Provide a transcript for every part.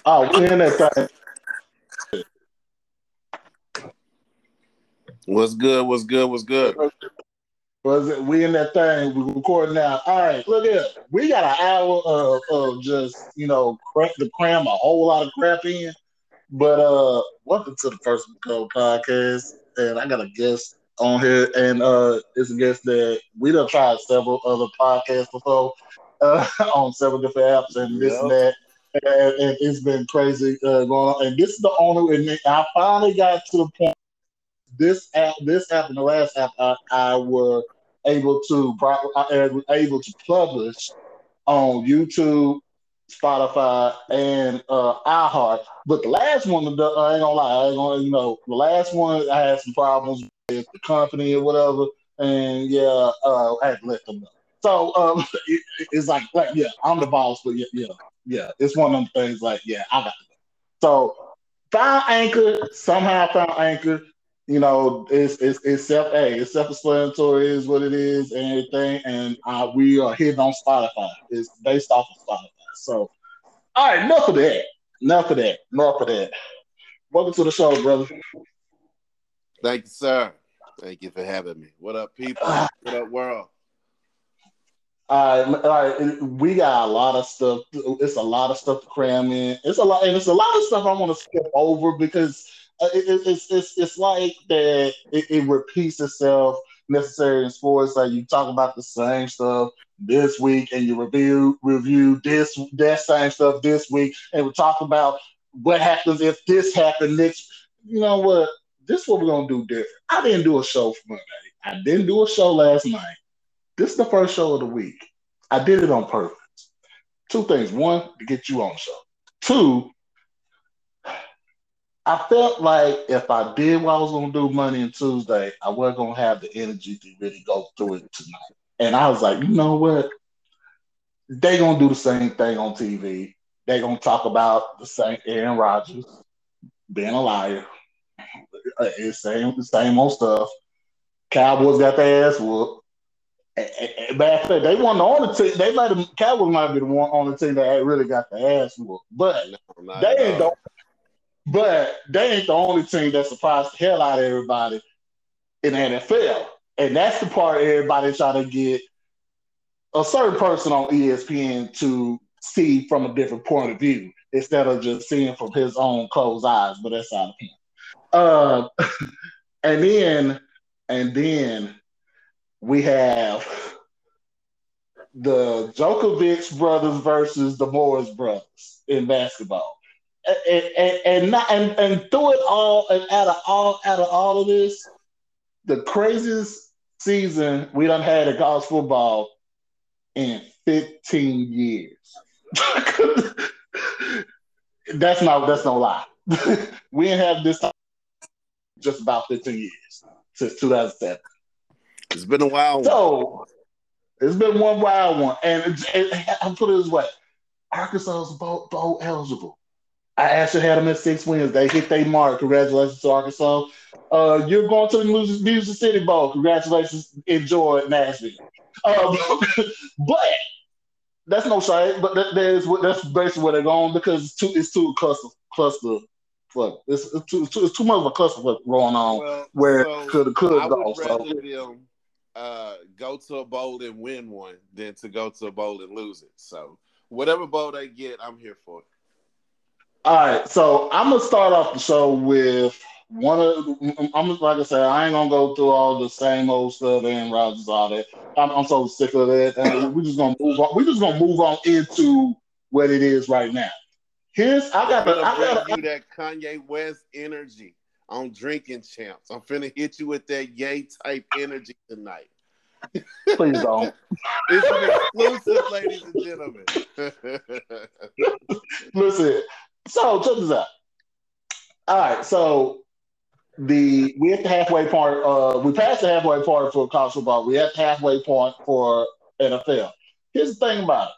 Oh, we in that thing. What's good? What's good? What's good? Was it? We in that thing. We recording now. All right, look here. We got an hour of just to cram a whole lot of crap in. But welcome to the First Go podcast, and I got a guest on here, and it's a guest that we done tried several other podcasts before on several different apps and this and Yep. that. And it's been crazy going on. And this is the only, and I finally got to the point. This app, and the last app, I were I was able to publish on YouTube, Spotify, and iHeart. But the last one, I ain't gonna lie, I ain't gonna, the last one I had some problems with the company or whatever, and yeah, I had to let them know. So it's like yeah, I'm the boss, but yeah, it's one of them things. Like yeah, I got to go. So found Anchor somehow. Found Anchor. It's self-explanatory is what it is and everything, and we are hitting on Spotify. It's based off of Spotify. So, all right, enough of that. Enough of that. Enough of that. Welcome to the show, brother. Thank you, sir. Thank you for having me. What up, people? What up, world? All right, we got a lot of stuff. It's a lot of stuff to cram in. It's a lot of stuff I want to skip over because it's like that. It repeats itself necessary in sports. Like you talk about the same stuff this week, and you review this that same stuff this week, and we talk about what happens if this happened next. You know what? This is what we're gonna do different. I didn't do a show for Monday. I didn't do a show last night. This is the first show of the week. I did it on purpose. Two things. One, to get you on the show. Two, I felt like if I did what I was going to do Monday and Tuesday, I wasn't going to have the energy to really go through it tonight. And I was like, you know what? They going to do the same thing on TV. They going to talk about the same Aaron Rodgers being a liar. It's the same old stuff. Cowboys got their ass whooped. Matter of fact, they won on the team. Cowboys might be the one on the team that really got the ass whooped, but No, not they at ain't the all. but they ain't the only team that surprised the hell out of everybody in the NFL, and that's the part everybody trying to get a certain person on ESPN to see from a different point of view instead of just seeing from his own closed eyes. But that's out of him. Uh, and then and then we have the Djokovic brothers versus the Morris brothers in basketball. And through it all and out of all of this, the craziest season we done had in college football in 15 years. That's no lie. We ain't had this just about 15 years since 2007. It's been a wild one. So it's been one wild one, and I'll put it this way: Arkansas is bowl eligible. I actually had them at 6 wins. They hit their mark. Congratulations to Arkansas. You're going to the Music City Bowl. Congratulations. Enjoy Nashville. Uh, but that's no shade. But that's basically where they're going because it's too cluster. Fuck. It's too much of a cluster going on Well, where it so could I would go. So rather them go to a bowl and win one than to go to a bowl and lose it. So whatever bowl they get, I'm here for it. all right, so I'm gonna start off the show with one of. Like I said, I ain't gonna go through all the same old stuff, Aaron Rodgers, all that. I'm so sick of that. And we're just gonna move on. We're just gonna move on into what it is right now. Here's I I'm got the finna I bring got you that Kanye West energy on Drinking Champs. I'm finna hit you with that Yay type energy tonight. please don't It's an exclusive, ladies and gentlemen. listen. So check this out. All right, so we at the halfway point. We passed the halfway point for college football. We at the halfway point for NFL. Here's the thing about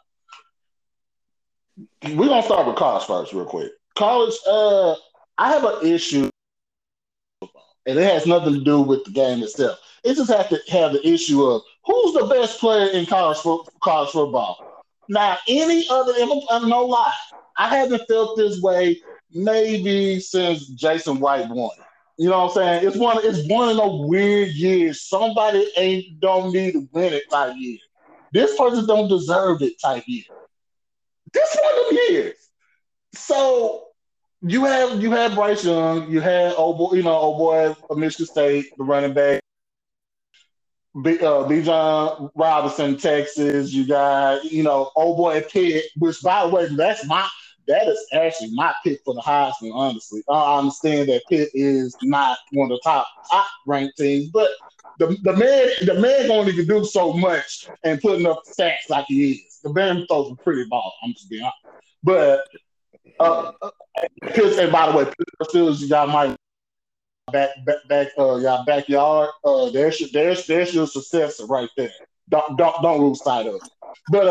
it. We're gonna start with college first, real quick. College. I have an issue, and it has nothing to do with the game itself. It just has to have the issue of who's the best player in college football. Now, any other, I'm no lie. I haven't felt this way maybe since Jason White won. You know what I'm saying? It's one of those weird years. Somebody ain't don't need to win it type year. This person don't deserve it type year. This one of them years. So you have Bryce Young, you had old boy of Michigan State, the running back. Bijan Robinson, Texas. You got, old boy Pitt, which by the way, that is actually my pick for the Heisman. Honestly, I understand that Pitt is not one of the top ranked teams, but the man don't even do so much and putting up stats like he is. The man throws a pretty ball. I'm just being honest, but Pitt, and by the way, Pitt still you got my y'all backyard. There's your successor right there. Don't lose sight of it. But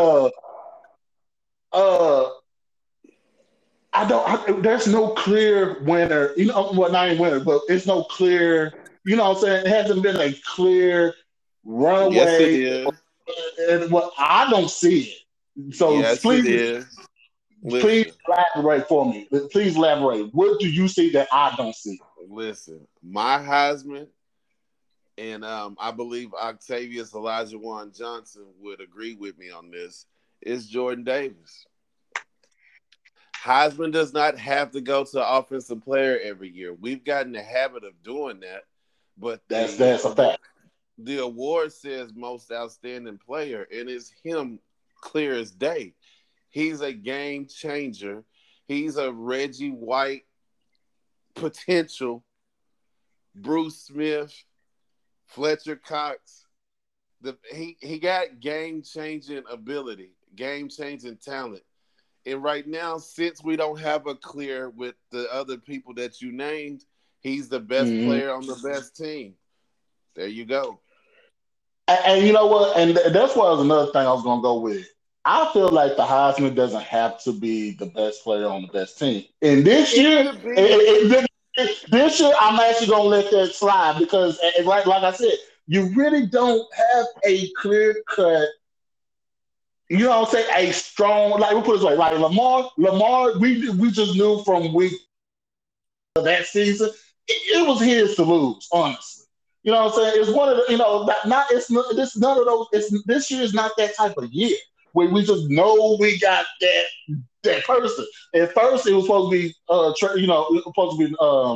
uh, I don't. There's no clear winner. Well, not even winner, but it's no clear. You know what I'm saying? It hasn't been a clear Yes, it runaway, is. and what I don't see it. So Yes, it please, is. please Listen, elaborate for me. Please elaborate. What do you see that I don't see? listen. My Heisman, and I believe Octavius Elijah Warren Johnson would agree with me on this, is Jordan Davis. Heisman does not have to go to offensive player every year. We've gotten the habit of doing that, but That's a fact. the award says most outstanding player, and it's him clear as day. He's a game changer. He's a Reggie White potential. Bruce Smith, Fletcher Cox. He got game changing ability, game changing talent. And right now, since we don't have a clear with the other people that you named, he's the best Mm-hmm. player on the best team. There you go. And you know what? And that's what was another thing I was gonna go with. I feel like the Heisman doesn't have to be the best player on the best team. And this It year, could be. this year, I'm actually gonna let that slide because, like I said, you really don't have a clear cut. You know what I'm saying? A strong, like we put it this way, like Lamar, we just knew from week of that season, it was his to lose, honestly. You know what I'm saying? It's one of the, not it's not, this none of those. This year is not that type of year where we just know we got that person. At first, it was supposed to be, it was supposed to be,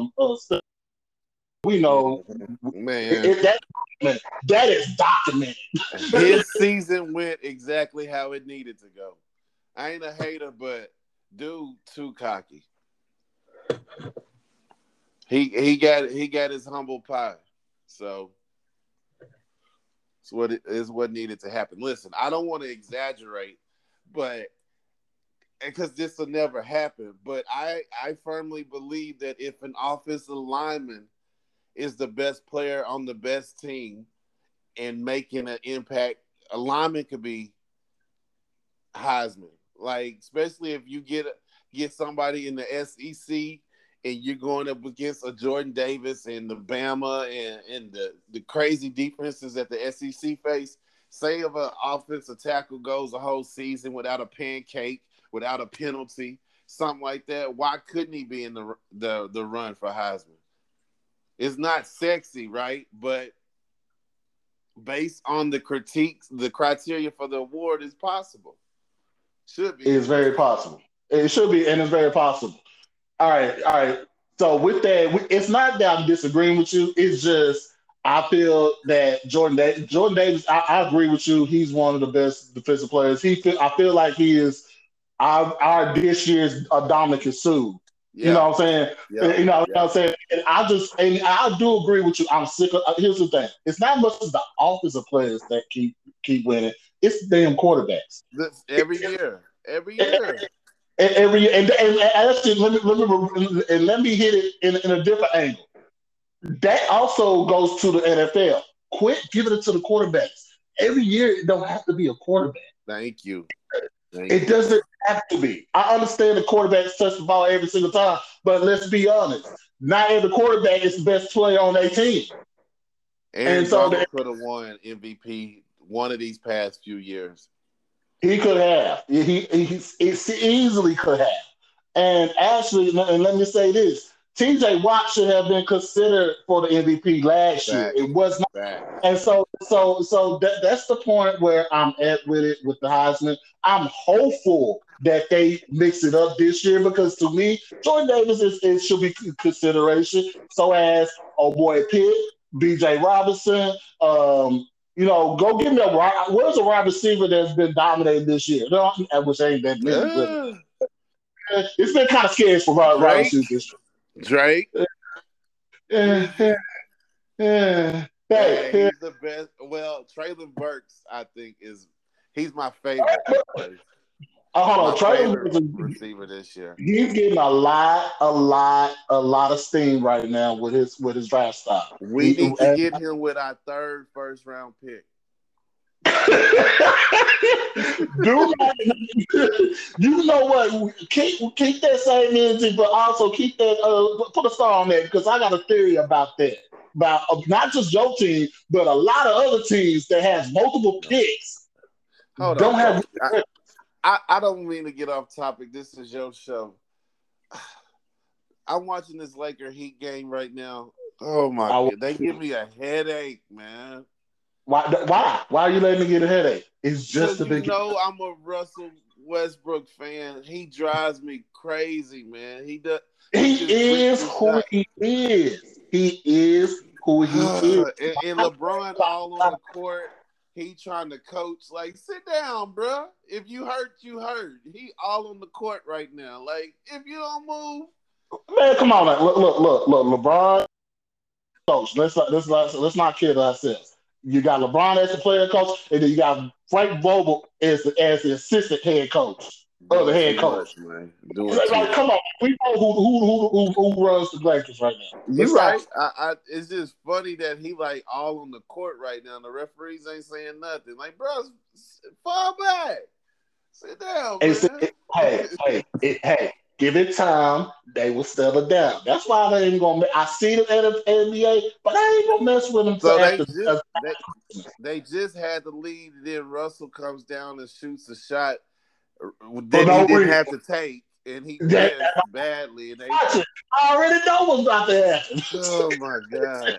we know Man, that is documented. his season went exactly how it needed to go. I ain't a hater, but dude, too cocky. He got his humble pie. So it's what needed to happen. Listen, I don't want to exaggerate, but because this will never happen, but I firmly believe that if an offensive lineman is the best player on the best team and making an impact, a lineman could be Heisman. Like, especially if you get somebody in the SEC and you're going up against a Jordan Davis and the Bama and the crazy defenses that the SEC face. Say if an offensive tackle goes a whole season without a pancake, without a penalty, something like that, why couldn't he be in the run for Heisman? It's not sexy, right? But based on the critiques, the criteria for the award is possible. Should be. It's very possible. It should be, and it's very possible. All right, all right. So with that, it's not that I'm disagreeing with you. It's just I feel that Jordan Davis. I agree with you. He's one of the best defensive players. I feel like he is our this year's Dominic Sue. You Yeah. know what I'm saying? Yeah. What I'm saying? And I do agree with you. I'm sick of. Here's the thing: it's not much as the offensive players that keep winning. It's the damn quarterbacks. Every year. Every year. And actually, let me hit it in a different angle. That also goes to the NFL. Quit giving it to the quarterbacks. Every year, it don't have to be a quarterback. Thank you. It doesn't have to be. I understand the quarterbacks touch the ball every single time, but let's be honest. Not every quarterback is the best player on their team. Aaron Donald could have won MVP one of these past few years. He could have. He easily could have. And actually, and let me say this: T.J. Watt should have been considered for the MVP last year. Facts. It was not. Facts. And so that's the point where I'm at with it with the Heisman. I'm hopeful that they mix it up this year because to me, Jordan Davis is should be consideration. So as oh boy Pitt, B.J. Robinson, go give me where's a wide receiver that's been dominating this year? No, which ain't that many really. It's been kind of scary for wide Drake. receivers this Drake. year. Yeah, Hey, he's the best. Well, Traylon Burks, I think, he's my favorite. hold My on, Traylon favorite Burks, receiver this year. he's getting a lot of steam right now with his draft stock. We need to get him with our third first round pick. Do not, you know what? Keep that same energy, but also keep that put a star on that because I got a theory about that. About not just your team, but a lot of other teams that has multiple picks Hold don't on, have. I don't mean to get off topic. This is your show. I'm watching this Laker Heat game right now. Oh my god, they give me a headache, man. Why are you letting me get a headache? It's just a big. I'm a Russell Westbrook fan. He drives me crazy, man. He does. He is who he is. He is who he is. And LeBron all on the court. He trying to coach. Like, sit down, bro. If you hurt, you hurt. He all on the court right now. Like, if you don't move, man, come on, man. Look. LeBron, coach. Let's not kid ourselves. You got LeBron as the player coach, and then you got Frank Vogel as the assistant head coach, other head coach. Man. Come on, we know who runs the Lakers right now. You're right. It's just funny that he like all on the court right now. And the referees ain't saying nothing. Like, bro, fall back, sit down, man. Hey, give it time. They will settle down. That's why they ain't gonna. I see them at the NBA, but I ain't gonna mess with them. So they just had the lead. And then Russell comes down and shoots a shot that he didn't have to take, and he missed badly. And I already know what's about to happen. Oh my god!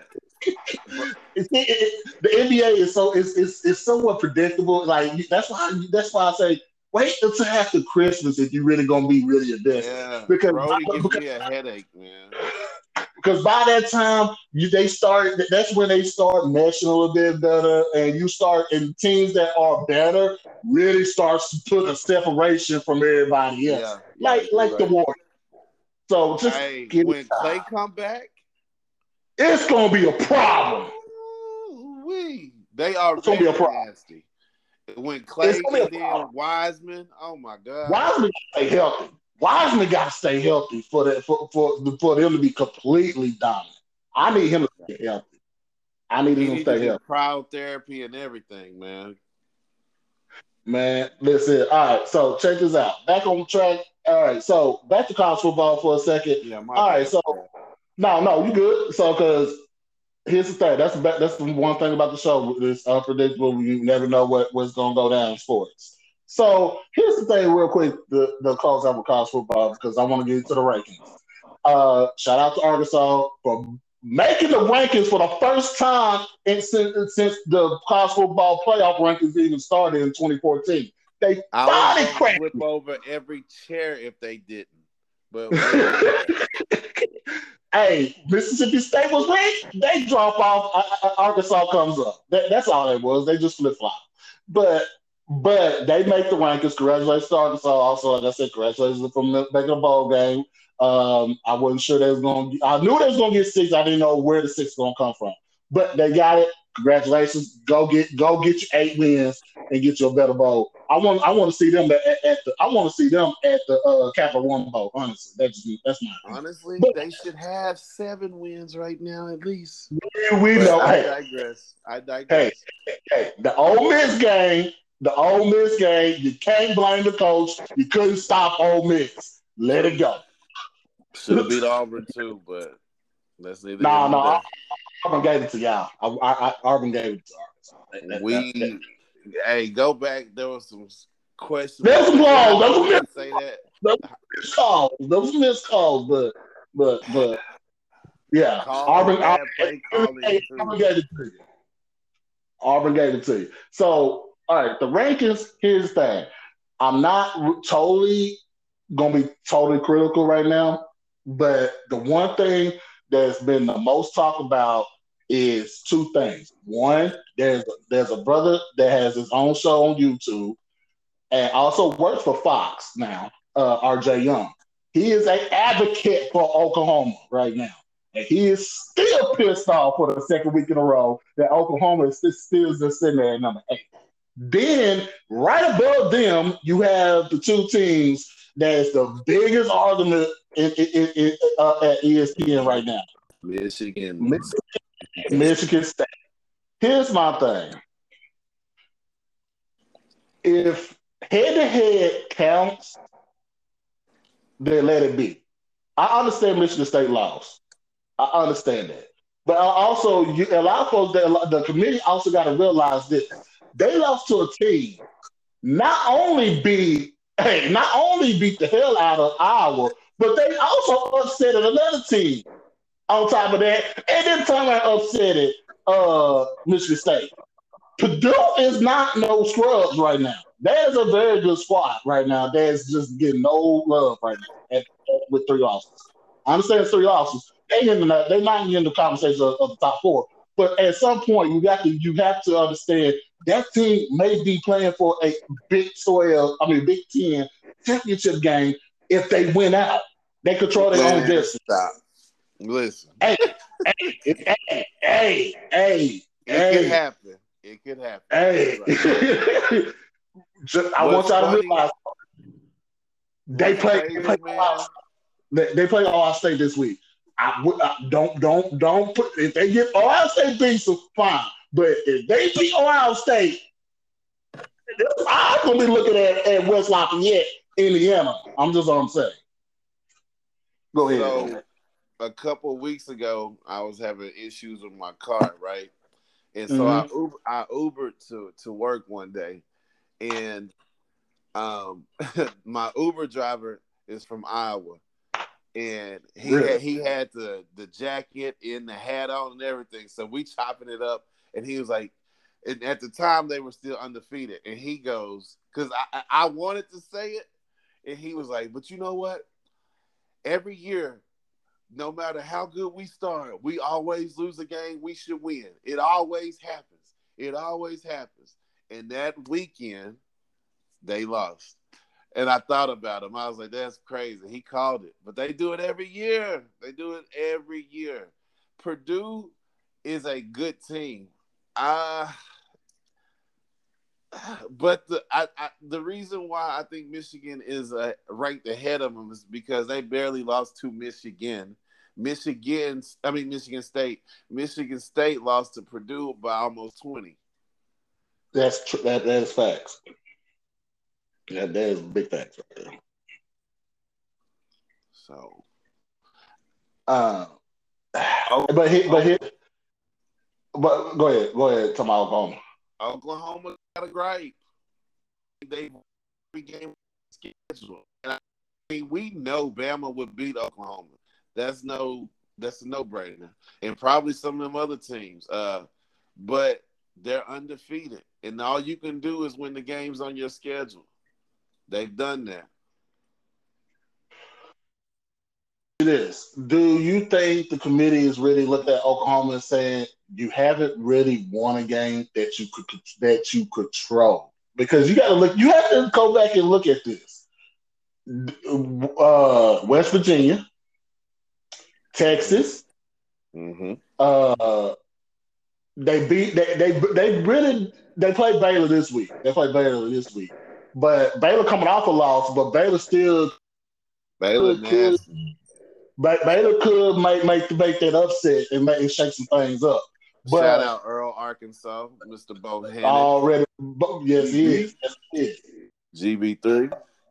The NBA is it's somewhat predictable. Like that's why I say wait until after Christmas if you're really gonna be really invested. Yeah, because Brody gives me a headache, man. Because by that time, that's when they start meshing a little bit better, and teams that are better really starts to put a separation from everybody else, like the Warriors. So just when Clay come back, it's gonna be a problem. They are very nasty. When Clay and then Wiseman, oh my god, Wiseman stay healthy. Wiseman got to stay healthy for them to be completely dominant. I need him to stay healthy. I need him to stay healthy. Crowd therapy and everything, man. Man, listen. All right, so check this out. Back on track. All right, so back to college football for a second. Yeah, all right, so no, you good. So because here's the thing. That's the one thing about the show. It's unpredictable. You never know what's going to go down in sports. So here's the thing, real quick, the close out with college football because I want to get into the rankings. Shout out to Arkansas for making the rankings for the first time since the college football playoff rankings even started in 2014. They finally cracked. Flip over every chair if they didn't. But hey, Mississippi State was ranked. They drop off. Arkansas comes up. That's all it was. They just flip flop. But they make the rankings. Congratulations to Arkansas. Also, like I said, congratulations from making a bowl game. I wasn't sure they was going to – I knew they was going to get 6. I didn't know where the 6 was going to come from. But they got it. Congratulations. Go get your 8 wins and get you a better bowl. I want to see them at the Capital One Bowl, honestly. That's my opinion. Honestly, they should have 7 wins right now at least. We know. I digress. Hey, the Ole Miss game, you can't blame the coach. You couldn't stop Ole Miss. Let it go. Should have beat Auburn too, but that's neither. No. Auburn gave it to y'all. Auburn gave it to Arkansas. Hey, go back. There was some questions. There's some flaws. Say that. those missed calls, but yeah, Bad play calling too. Auburn gave it to you. Auburn gave it to you. So, all right, the rankings. Here's the thing. I'm not totally gonna be totally critical right now, but the one thing that's been the most talked about is two things. One, there's a brother that has his own show on YouTube and also works for Fox now, RJ Young. He is an advocate for Oklahoma right now. And he is still pissed off for the second week in a row that Oklahoma is still just sitting there at number 8. Then, right above them, you have the two teams that's the biggest argument at ESPN right now. Michigan. Michigan State. Here's my thing. If head-to-head counts, then let it be. I understand Michigan State lost. I understand that. But also, a lot of folks, the committee also got to realize that they lost to a team not only beat the hell out of Iowa, but they also upset another team on top of that, and then turn around and upset Michigan State. Purdue is not no scrubs right now. There's a very good squad right now that's just getting no love right now with 3 losses. I understand it's 3 losses. They're not in the conversation of the top 4. But at some point, you have to understand that team may be playing for a Big 10 championship game if they win out. They control their own destiny. Stop. Listen. Hey. It could happen. It could happen. Hey. I want y'all to realize they play Ohio State this week. Don't put if they get Ohio State beat, so fine. But if they beat Ohio State, I'm gonna be looking at West Lafayette, Indiana. I'm just what I'm saying. Go ahead. So, a couple of weeks ago, I was having issues with my car, right? And so I Ubered to work one day, and my Uber driver is from Iowa. And he had the jacket and the hat on and everything. So we chopping it up. And he was like, and at the time they were still undefeated. And he goes, because I wanted to say it. And he was like, but you know what? Every year, no matter how good we start, we always lose a game we should win. It always happens. It always happens. And that weekend, they lost. And I thought about him. I was like, that's crazy. He called it. But they do it every year. They do it every year. Purdue is a good team. But the reason why I think Michigan is ranked ahead of them is because they barely lost to Michigan. Michigan State. Michigan State lost to Purdue by almost 20. That's true. That is facts. Yeah, that is big facts right there. So, but go ahead. Talk about Oklahoma. Oklahoma got a gripe. They game schedule, and I mean we know Bama would beat Oklahoma. That's a no-brainer, and probably some of them other teams. But they're undefeated, and all you can do is win the games on your schedule. They've done that. It is. Do you think the committee is really looking at Oklahoma and saying you haven't really won a game that you control? Because you got to look. You have to go back and look at this. West Virginia, Texas. Mm-hmm. They played Baylor this week. But Baylor coming off a loss, but Baylor still Baylor could make that upset and shake some things up. But, shout out Earl, Arkansas, Mr. Bohannon. Already, yes, he is. GB3.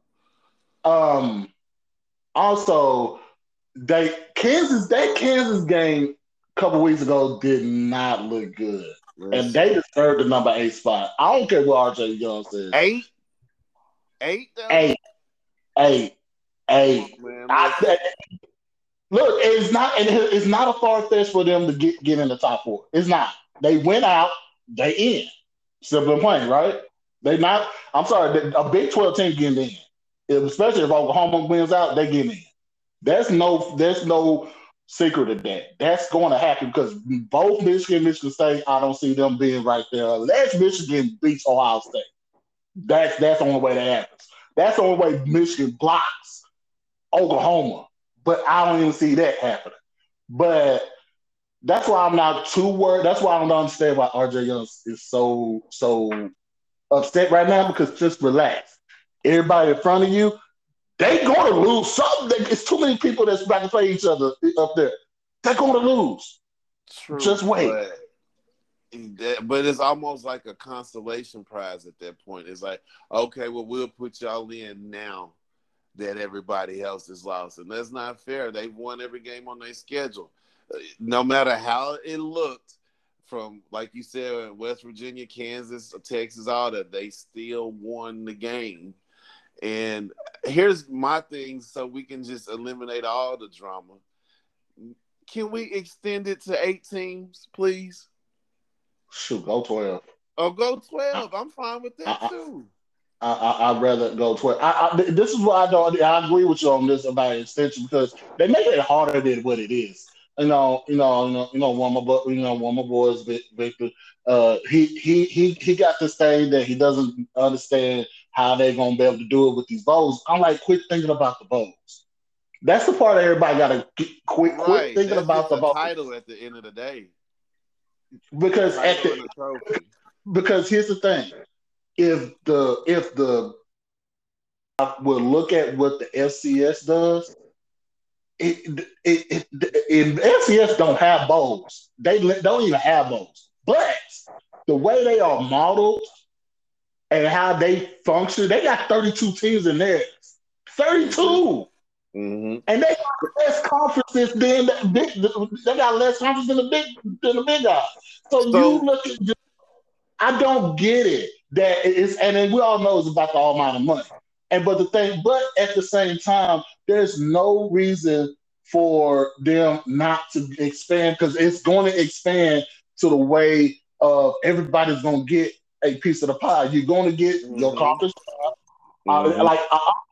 Also, that Kansas game a couple weeks ago did not look good, and they deserved the number 8 spot. I don't care what RJ Young says. 8. Come Hey, on, man. Listen. look, it's not a far fetch for them to get in the top four. It's not. They went out, they in. Simple and plain, right? They not. I'm sorry, a Big 12 team getting in. Especially if Oklahoma wins out, they get in. There's no secret of that. That's going to happen because both Michigan and Michigan State, I don't see them being right there unless Michigan beats Ohio State. That's the only way that happens. That's the only way Michigan blocks Oklahoma. But I don't even see that happening. But that's why I'm not too worried. That's why I don't understand why RJ Young is so upset right now because just relax. Everybody in front of you, they going to lose something. It's too many people that's about to play each other up there. They're going to lose. True, Just wait. but it's almost like a consolation prize at that point. It's like, okay, well, we'll put y'all in now that everybody else is lost, and that's not fair. They've won every game on their schedule, no matter how it looked. From like you said, West Virginia, Kansas, Texas, all that, they still won the game. And here's my thing, so we can just eliminate all the drama. Can we extend it to 8 teams, please? Shoot, go 12. Or go I, 12. I'm fine with that I, too. I'd rather go 12. This is why I don't. I agree with you on this about extension because they make it harder than what it is. One of my boys, Victor. He got this thing that he doesn't understand how they're gonna be able to do it with these bowls. I'm like, quit thinking about the bowls. That's the part that everybody got to quit Right. thinking That's about just the a bowls title at the end of the day. A because title and a trophy. because here's the thing: if the will look at what the FCS does, and FCS don't have bowls. They don't even have bowls. But the way they are modeled and how they function, they got 32 teams in there. Mm-hmm. 32. Mm-hmm. And they got less conferences than the big. They got less conferences than the big guys. So you So look at. I don't get it. That it's and then we all know it's about the all amount of money. But at the same time, there's no reason for them not to expand because it's going to expand to the way of everybody's going to get a piece of the pie. You're going to get your mm-hmm. conference. Mm-hmm. Like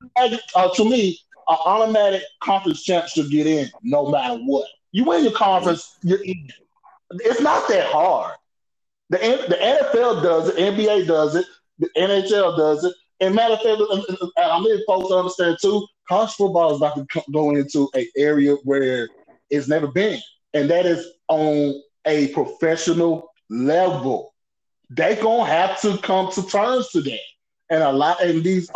to me, an automatic conference champ should get in no matter what. You win your conference, you're in. It's not that hard. The NFL does it, NBA does it, the NHL does it. And matter of fact, I need folks to understand too, college football is about to go into an area where it's never been, and that is on a professional level. They gonna have to come to terms to that, and a lot and these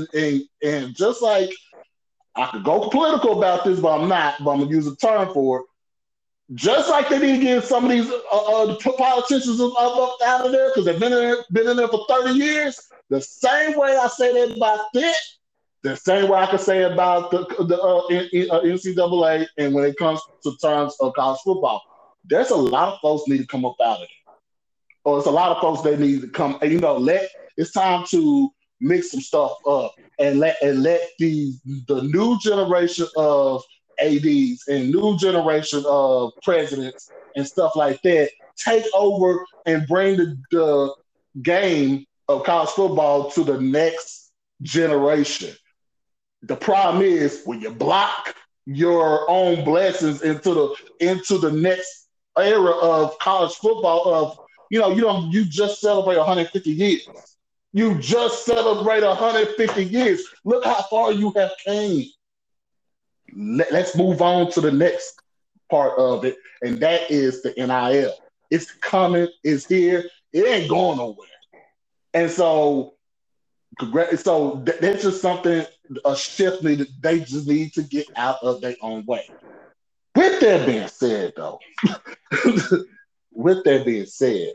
and just like I could go political about this, but I'm not. But I'm gonna use a term for it. Just like they need to get some of these politicians out of there because they've been in there for 30 years. The same way I say that about that, the same way I can say about the NCAA and when it comes to terms of college football. There's a lot of folks need to come up out of it. Or it's a lot of folks that need to come, and it's time to mix some stuff up and let the new generation of ads and new generation of presidents and stuff like that take over and bring the game of college football to the next generation. The problem is when you block your own blessings into the next era of college football of you just celebrate 150 years. You just celebrate 150 years. Look how far you have came. Let's move on to the next part of it, and that is the NIL. It's coming, it's here, it ain't going nowhere. And so that's just something, a shift that they just need to get out of their own way. With that being said, though, with that being said,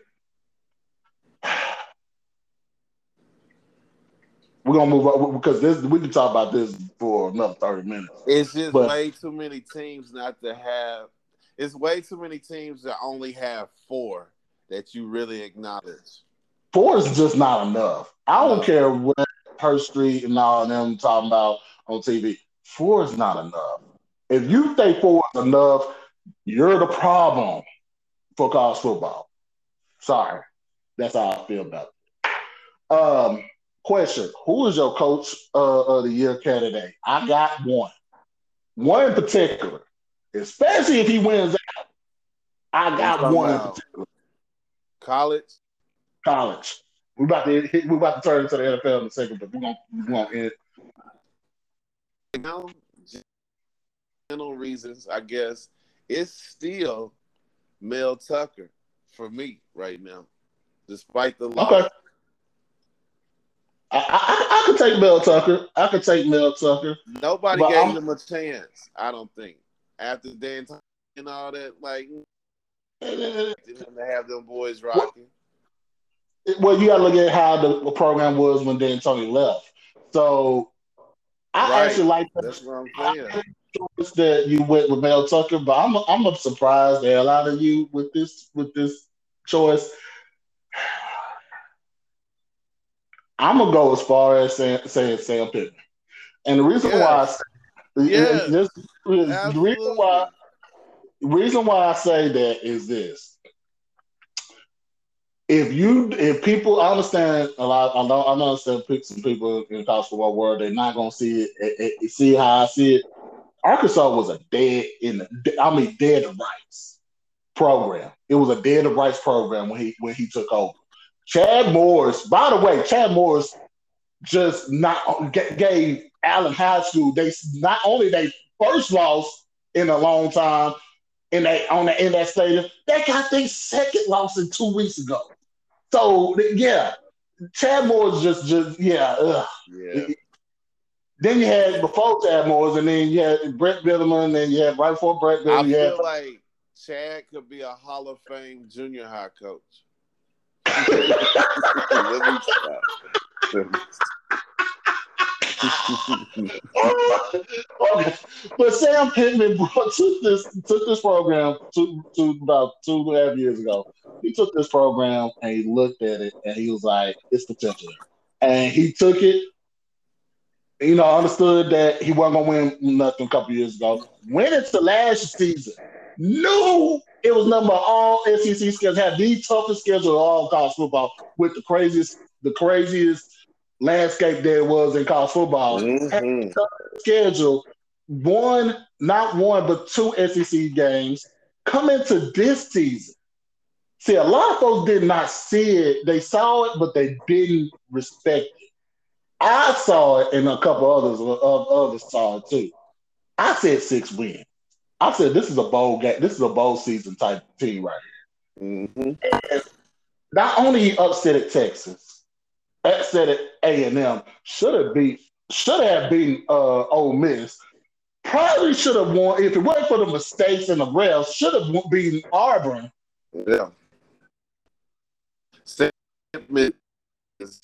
we're gonna move on because we can talk about this for another 30 minutes. It's just But way too many teams not to have. It's way too many teams that only have 4 that you really acknowledge. four is just not enough. I don't No. care what Hurst Street and all of them talking about on TV. Four is not enough. If you think four is enough, you're the problem for college football. Sorry. That's how I feel about it. Question: who is your coach of the year candidate? I got one. One in particular. Especially if he wins out. I You got talking one in about particular. college? College. We about to turn to the NFL in a second, but we're gonna end. Now, general reasons, I guess, it's still Mel Tucker for me right now, despite the Okay. loss. I could take Mel Tucker. I could take Mel Tucker. Nobody But gave him a chance, I don't think. After Dan and all that, like, I'm him to have them boys rocking. well, you got to look at how the program was when Dan Tony left. So I Right. actually like That's what I'm I saying. choice that you went with Mel Tucker, but I'm surprised the hell out of you with this choice. I'm gonna go as far as saying Sam Pittman, and the reason why I Yes. say Yes. this is Absolutely. the reason why I say that is this. If people I understand a lot, I understand some people in the college football world they're not gonna see see how I see it. Arkansas was a dead rights program. It was a dead rights program when he took over. Chad Morris, by the way, Chad Morris just not gave Allen High School. They not only they first loss in a long time in that stadium, they got their second loss in 2 weeks ago. So yeah, Chad Morris just yeah. Yeah. Then you had before Chad Morris, and then you had Brett Bielema, and then you had right before Brett I Bielema, you had feel like Chad could be a Hall of Fame junior high coach. Let me stop. okay. But Sam Pittman took this program to about 2.5 years ago. He took this program and he looked at it and he was like, "It's potential there." And he took it. Understood that he wasn't gonna win nothing a couple years ago. Went into last season, knew it was number all SEC schedules, had the toughest schedule of all college football with the craziest landscape there was in college football. Had Mm-hmm. the toughest schedule, not one, but two SEC games. Come into this season. See, a lot of folks did not see it. They saw it, but they didn't respect it. I saw it, and a couple others saw it too. I said 6 wins. I said this is a bowl game. This is a bowl season type team right Mm-hmm. here. And not only he upset at Texas, upset at A&M, should have beaten Ole Miss. Probably should have won if it wasn't for the mistakes and the refs. Should have beaten Auburn. Yeah. Statement is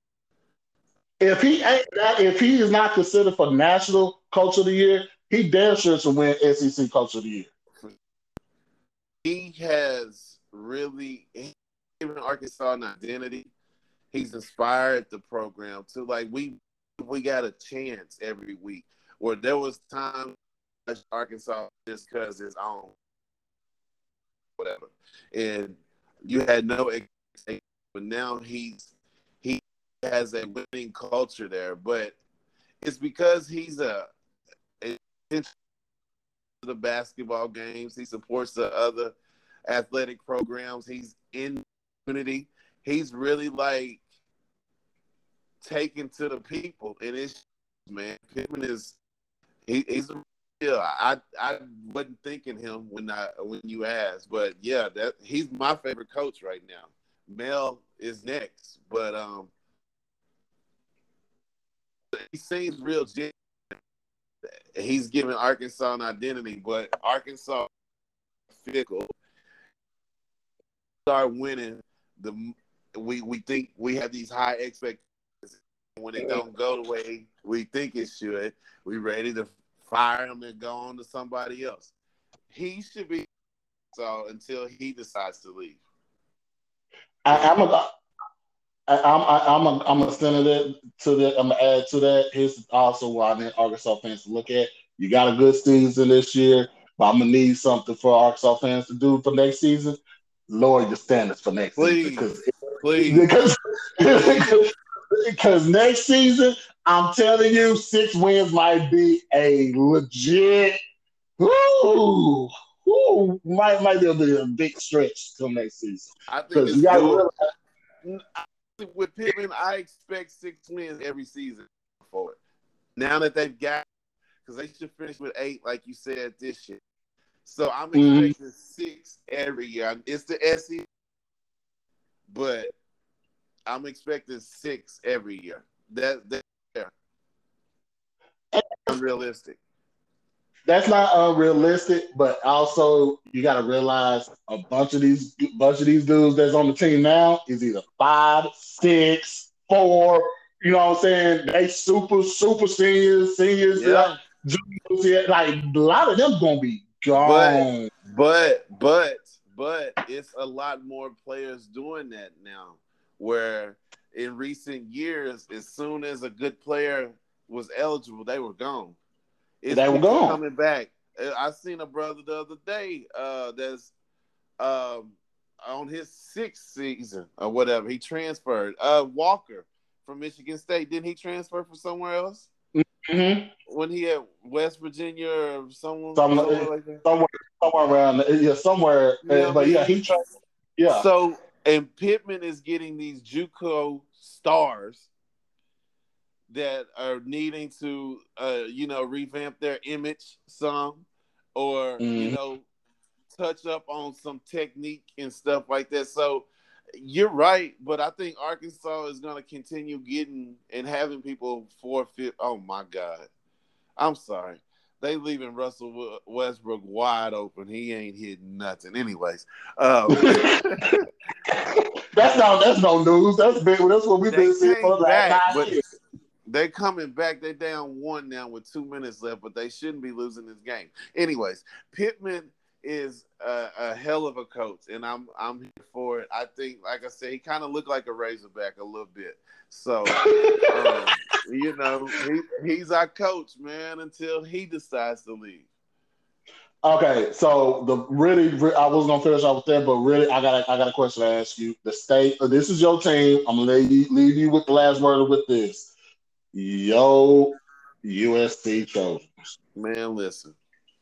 If he is not considered for National Coach of the Year, he damn sure should win SEC Coach of the Year. he has really given Arkansas an identity. He's inspired the program to like we got a chance every week. Where there was time Arkansas just because it's on whatever, and you had no expectation. But now he has a winning culture there. But it's because he's a attention to the basketball games. He supports the other athletic programs. He's in community. He's really like taken to the people, and it's man. Pittman is he's a yeah. I wasn't thinking him when you asked, but yeah, that he's my favorite coach right now. Mel is next, but he seems real genuine. He's giving Arkansas an identity, but Arkansas fickle. Start winning the we think we have these high expectations. When it don't go the way we think it should, we ready to fire him and go on to somebody else. He should be so until he decides to leave. I, I'm a, I'm gonna send it to that. I'm gonna add to that. Here's also why I need Arkansas fans to look at. You got a good season this year, but I'm gonna need something for Arkansas fans to do for next season. Lower your standards for next season Please, please, because please. because next season, I'm telling you, 6 wins might be a legit. Ooh, might be a big stretch till next season I think because you it's got to doable. realize. With Pittman, I expect 6 wins every season for it. Now that they've got, because they should finish with 8, like you said this year. So I'm Mhm. expecting 6 every year. It's the SEC, but I'm expecting 6 every year. That's unrealistic. That's not unrealistic, but also you got to realize a bunch of these dudes that's on the team now is either 5, 6, 4. You know what I'm saying? They super seniors, Yeah, juniors. Yeah, like a lot of them gonna be but gone. but it's a lot more players doing that now. Where in recent years, as soon as a good player was eligible, they were gone. It's They were people gone. coming back. I seen a brother the other day that's um, on his 6th season or whatever. He transferred. Walker from Michigan State. Didn't he transfer from somewhere else Mm-hmm. when he at West Virginia or Some, somewhere like that? somewhere, somewhere around, yeah, somewhere. You know what But I yeah, mean? he tried. Yeah, So and Pittman is getting these JUCO stars that are needing to revamp their image some or mm-hmm. touch up on some technique and stuff like that. So you're right, but I think Arkansas is going to continue getting and having people forfeit. Oh my God, I'm sorry. They leaving Russell Westbrook wide open. He ain't hitting nothing. Anyways, That's no news. That's big. That's what we've they been seeing for came the last back, 9 but years. they're coming back. They're down 1 now with 2 minutes left, but they shouldn't be losing this game. Anyways, Pittman is a hell of a coach, and I'm here for it. I think, like I said, he kind of looked like a Razorback a little bit. So, he's our coach, man, until he decides to leave. Okay, so I was gonna finish off with that, but really, I got a question to ask you. The state, this is your team. I'm gonna leave you with the last word with this. Yo, USC Trojans. Man, listen,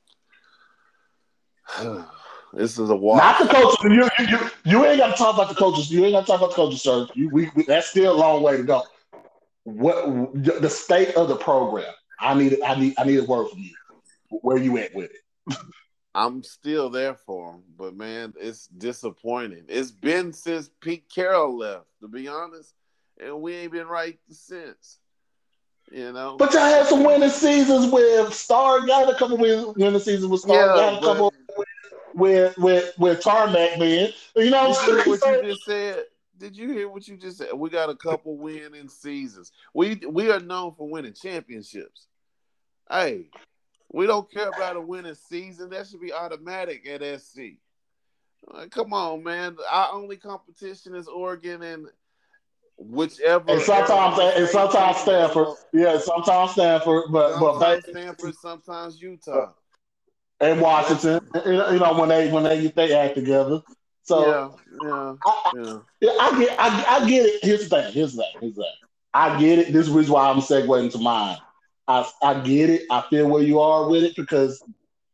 this is a Not the wash. coaches. You ain't got to talk about the coaches. You ain't got to talk about the coaches, sir. That's still a long way to go. What the state of the program? I need a word from you. Where you at with it? I'm still there for him, but man, it's disappointing. It's been since Pete Carroll left, to be honest, and we ain't been right since. You know, But y'all had some winning seasons with Star. Got a couple winning seasons with Star. yeah, Got a but couple with Tarmac, man. You know did you what hear I'm what you saying? just said? Did you hear what you just said? We got a couple winning seasons. We are known for winning championships. Hey, we don't care about a winning season. That should be automatic at SC. Come on, man. Our only competition is Oregon and And whichever sometimes Arizona and State sometimes team is Stanford. Yeah, sometimes Stanford, but sometimes Stanford, sometimes Utah. and That's Washington. When they act together. So yeah, yeah, I, yeah. yeah, I get it. Here's the thing. I get it. This is the reason why I'm segueing into mine. I get it. I feel where you are with it because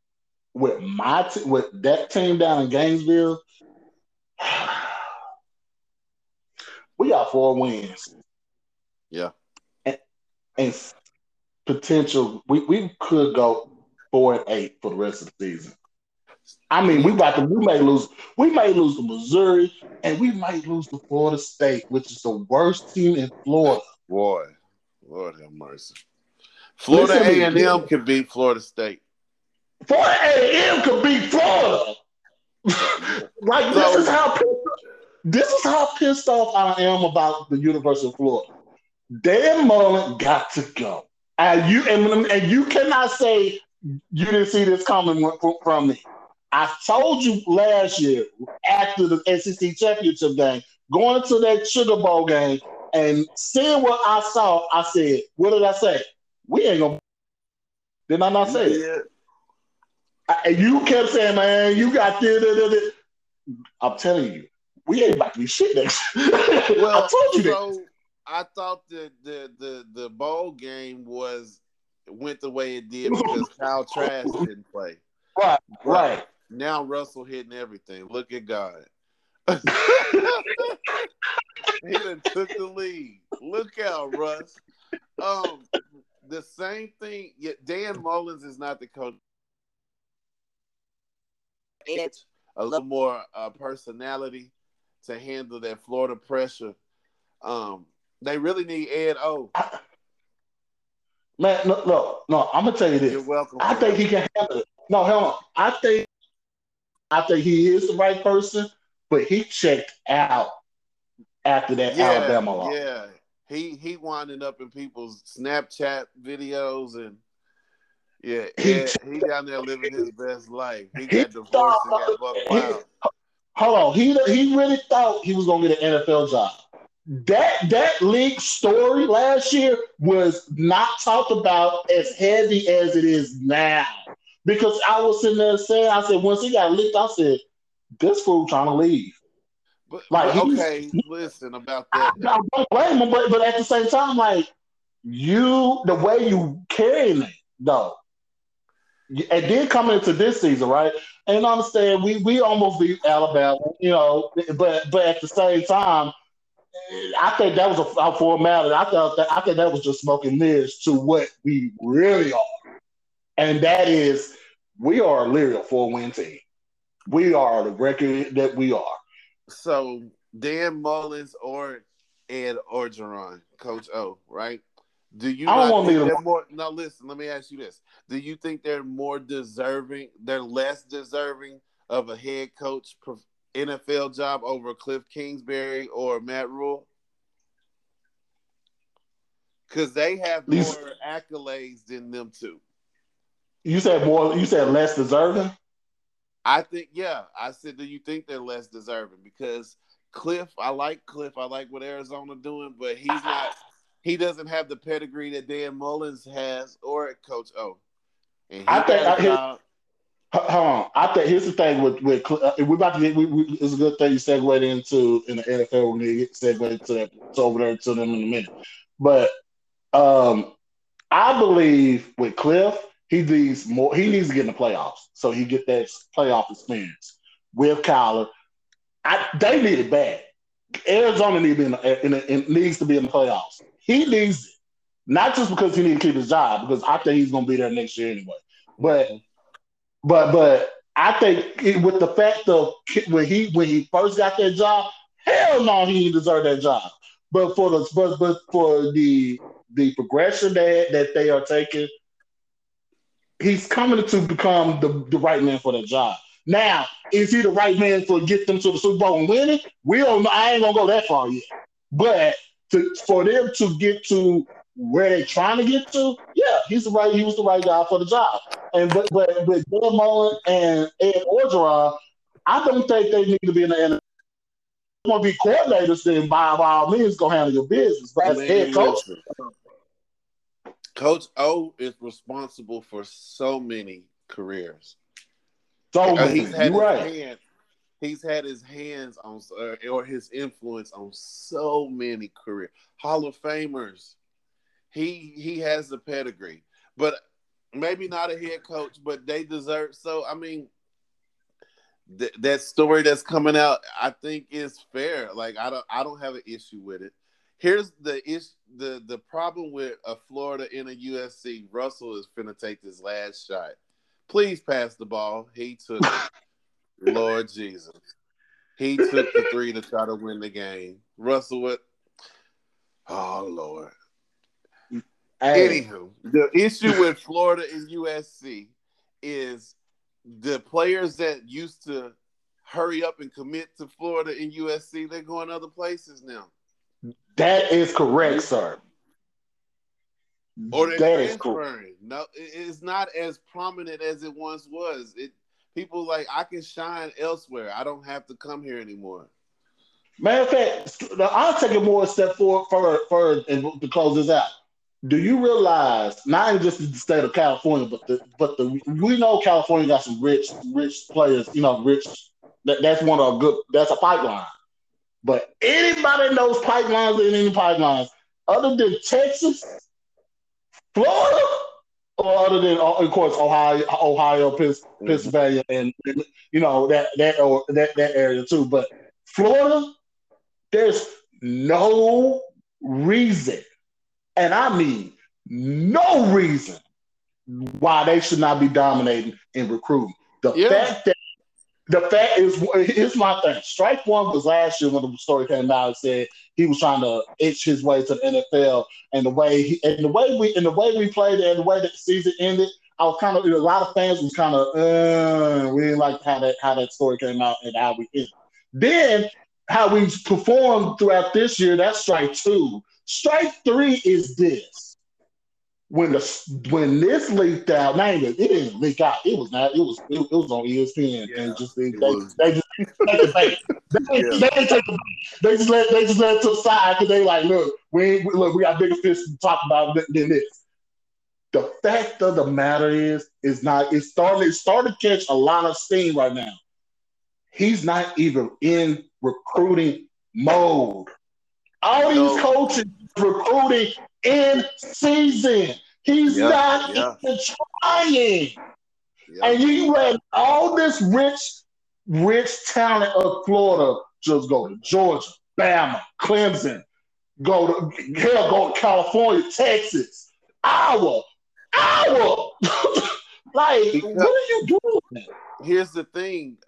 with that team down in Gainesville, we got 4 wins Yeah. and, and potential. We could go 4-8 for the rest of the season. I mean, You we may lose to Missouri, and we might lose to Florida State, which is the worst team in Florida. boy, Lord have mercy. Florida Listen to A me. and M can beat Florida State. Florida A&M could beat Florida. Yeah. Like So this is how pissed off I am about the University of Florida. Dan Mullen got to go. And you cannot say you didn't see this coming from me. I told you last year after the SEC championship game, going to that Sugar Bowl game and seeing what I saw, I said, what did I say? We ain't gonna. Did I not You say it? did. And you kept saying, man, you got this. I'm telling you, we ain't about to be shit next. I Well, told you that. so I thought that the bowl game went the way it did because Kyle Trask didn't play. Right, But right. now Russell hitting everything. Look at God. He done took the lead. Look out, Russ. The same thing. Yeah, Dan Mullins is not the coach. Edge, a little more personality to handle that Florida pressure. They really need Ed O. Man, no. I'm gonna tell you You're this. welcome I for think that he one. can handle it. No, hell no. I think he is the right person, but he checked out after that Yeah, Alabama loss. yeah. He winding up in people's Snapchat videos and yeah, He Ed, he down there living his best life. He he got divorced and thought got buck he wild. hold on. He really thought he was gonna get an NFL job. That league story last year was not talked about as heavy as it is now. Because I was sitting there saying, I said, once he got leaked, I said, this fool trying to leave. Like But he's okay, listen about I that. don't blame him, but at the same time, like the way you carrying it, though. And then coming into this season, right? And understand we almost beat Alabama, but at the same time, I think that was a formality. I think that was just smoking mirrors to what we really are, and that is we are literally a 4-win team. We are the record that we are. So Dan Mullins or Ed Orgeron, Coach O, right? Do you I don't not want to think leave them. they're more? Now, listen. Let me ask you this: Do you think they're more deserving? They're less deserving of a head coach NFL job over Cliff Kingsbury or Matt Rule? Because they have more These accolades than them two. you said more. You said less deserving. I think, yeah. I said, do you think they're less deserving? Because Cliff, I like Cliff. I like what Arizona doing, but he's not. He doesn't have the pedigree that Dan Mullins has or Coach O, and I he think. got a job. Hold on. I think here's the thing with we're about to get. It's a good thing you segued into in the NFL. We're gonna get segued to that to over there to them in a minute. But um, I believe with Cliff, he needs more. He needs to get in the playoffs so he get that playoff experience with Kyler. They need it bad. Arizona need to be needs to be in the playoffs. He needs it, not just because he needs to keep his job, because I think he's going to be there next year anyway. But Mhm. but I think with the fact of when he first got that job, hell no, he didn't deserve that job. But for the progression that they are taking, he's coming to become the right man for the job. Now, is he the right man for get them to the Super Bowl and win it? We don't. I ain't gonna go that far yet. But for them to get to where they're trying to get to, yeah, he's the right. He was the right guy for the job. And but with Dan Mullen and Ed Orgeron, I don't think they need to be in the NFL. Want to be coordinators, then by all means, go handle your business. But as head Man, coach, listen. Coach O is responsible for so many careers. so He's many. had You're his right. hand. He's had his hands on or his influence on so many career Hall of Famers. He has the pedigree, but maybe not a head coach, but they deserve. So I mean, that story that's coming out, I think is fair. Like I don't have an issue with it. Here's the problem with a Florida and a USC. Russell is finna take this last shot. Please pass the ball. He took it. Lord Jesus. He took the three to try to win the game. Russell, what? Oh Lord. Hey, Anywho, the issue with Florida and USC is the players that used to hurry up and commit to Florida and USC, they're going other places now. that is correct, sir. Or they're That is cool. transferring. No, it's not as prominent as it once was. People like I can shine elsewhere. I don't have to come here anymore. Matter of fact, I'll take it more a step forward and to close this out. Do you realize not even just the state of California, but the we know California got some rich players. Rich. That's one of a good. That's a pipeline. But anybody knows pipelines in any pipelines other than Texas, Florida, or other than of course Ohio, Mm-hmm. Pennsylvania, and that area too. But Florida, there's no reason, and I mean no reason why they should not be dominating in recruiting. The Yeah. fact that the fact is, here's my thing. Strike one was last year when the story came out and said he was trying to itch his way to the NFL, and the way we played it, and the way that the season ended. I was kind of a lot of fans was kind of we didn't like how that story came out and how we ended. Then how we performed throughout this year. That's strike two. Strike three is this when this leaked out, now it didn't leak out. It was not. It was on ESPN, and Yeah. just they It was. they just take the bait. They, Yeah. they didn't take the bait. They just let it to the side because they like, look, we got bigger fish to talk about than this. The fact of the matter is not. It's starting to catch a lot of steam right now. He's not even in recruiting mode. All these So coaches recruiting in season. He's yeah, not yeah, even trying. yeah. And you let all this rich talent of Florida just go to Georgia, Bama, Clemson, go to California, Texas, Iowa, Iowa. Like, Because what are you doing? here's the thing.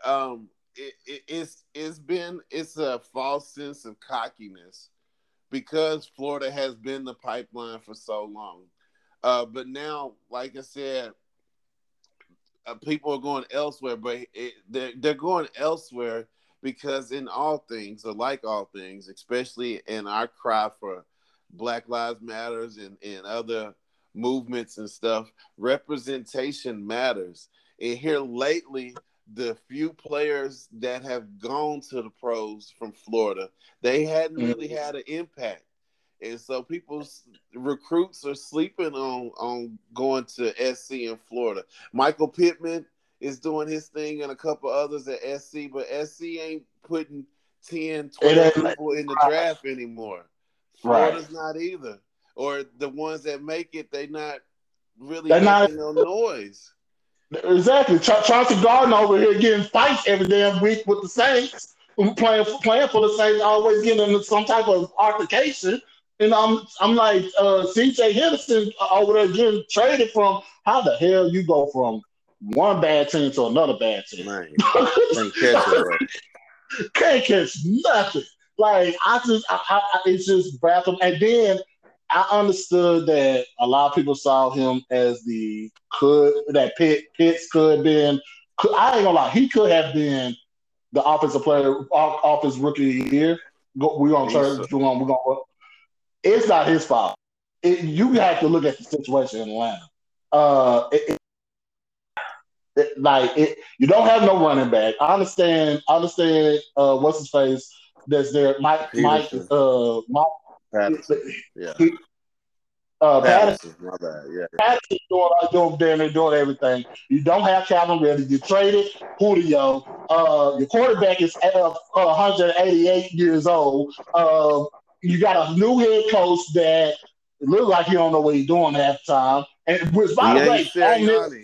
It's a false sense of cockiness because Florida has been the pipeline for so long. But now, like I said, people are going elsewhere, but they're going elsewhere because in all things, or like all things, especially in our cry for Black Lives Matters and other movements and stuff, representation matters. And here lately, the few players that have gone to the pros from Florida, they hadn't really Mm. had an impact. And so people's recruits are sleeping on going to SC in Florida. Michael Pittman is doing his thing and a couple others at SC, but SC ain't putting 10, It 12 ain't people in the draft anymore. right. Florida's not either. Or the ones that make it, they not really They're not making no noise. exactly. Chauncey Gardner over here getting fights every damn week with the Saints, playing for the Saints, always getting into some type of altercation. And I'm like C.J. Henderson over there getting traded from. How the hell you go from one bad team to another bad team? Man, can't catch a break. Can't catch nothing. Like it's just baffling. And then I understood that a lot of people saw him as the could that Pitts could have been. I ain't gonna lie, he could have been the offensive player, offensive rookie of the year. We're gonna He's turn. We're gonna. It's not his fault. You have to look at the situation in Atlanta. You don't have no running back. I understand. I understand. What's his face? That's there. Peterson, Mike. Patterson. Yeah. He, Patterson. Patterson, my bad. Yeah. Patterson doing everything. You don't have Calvin Ridley. You traded Julio. Your quarterback is 188 years old. You got a new head coach that looks like he don't know what he's doing half the time. And which, He by the ain't way, on this Sirianni.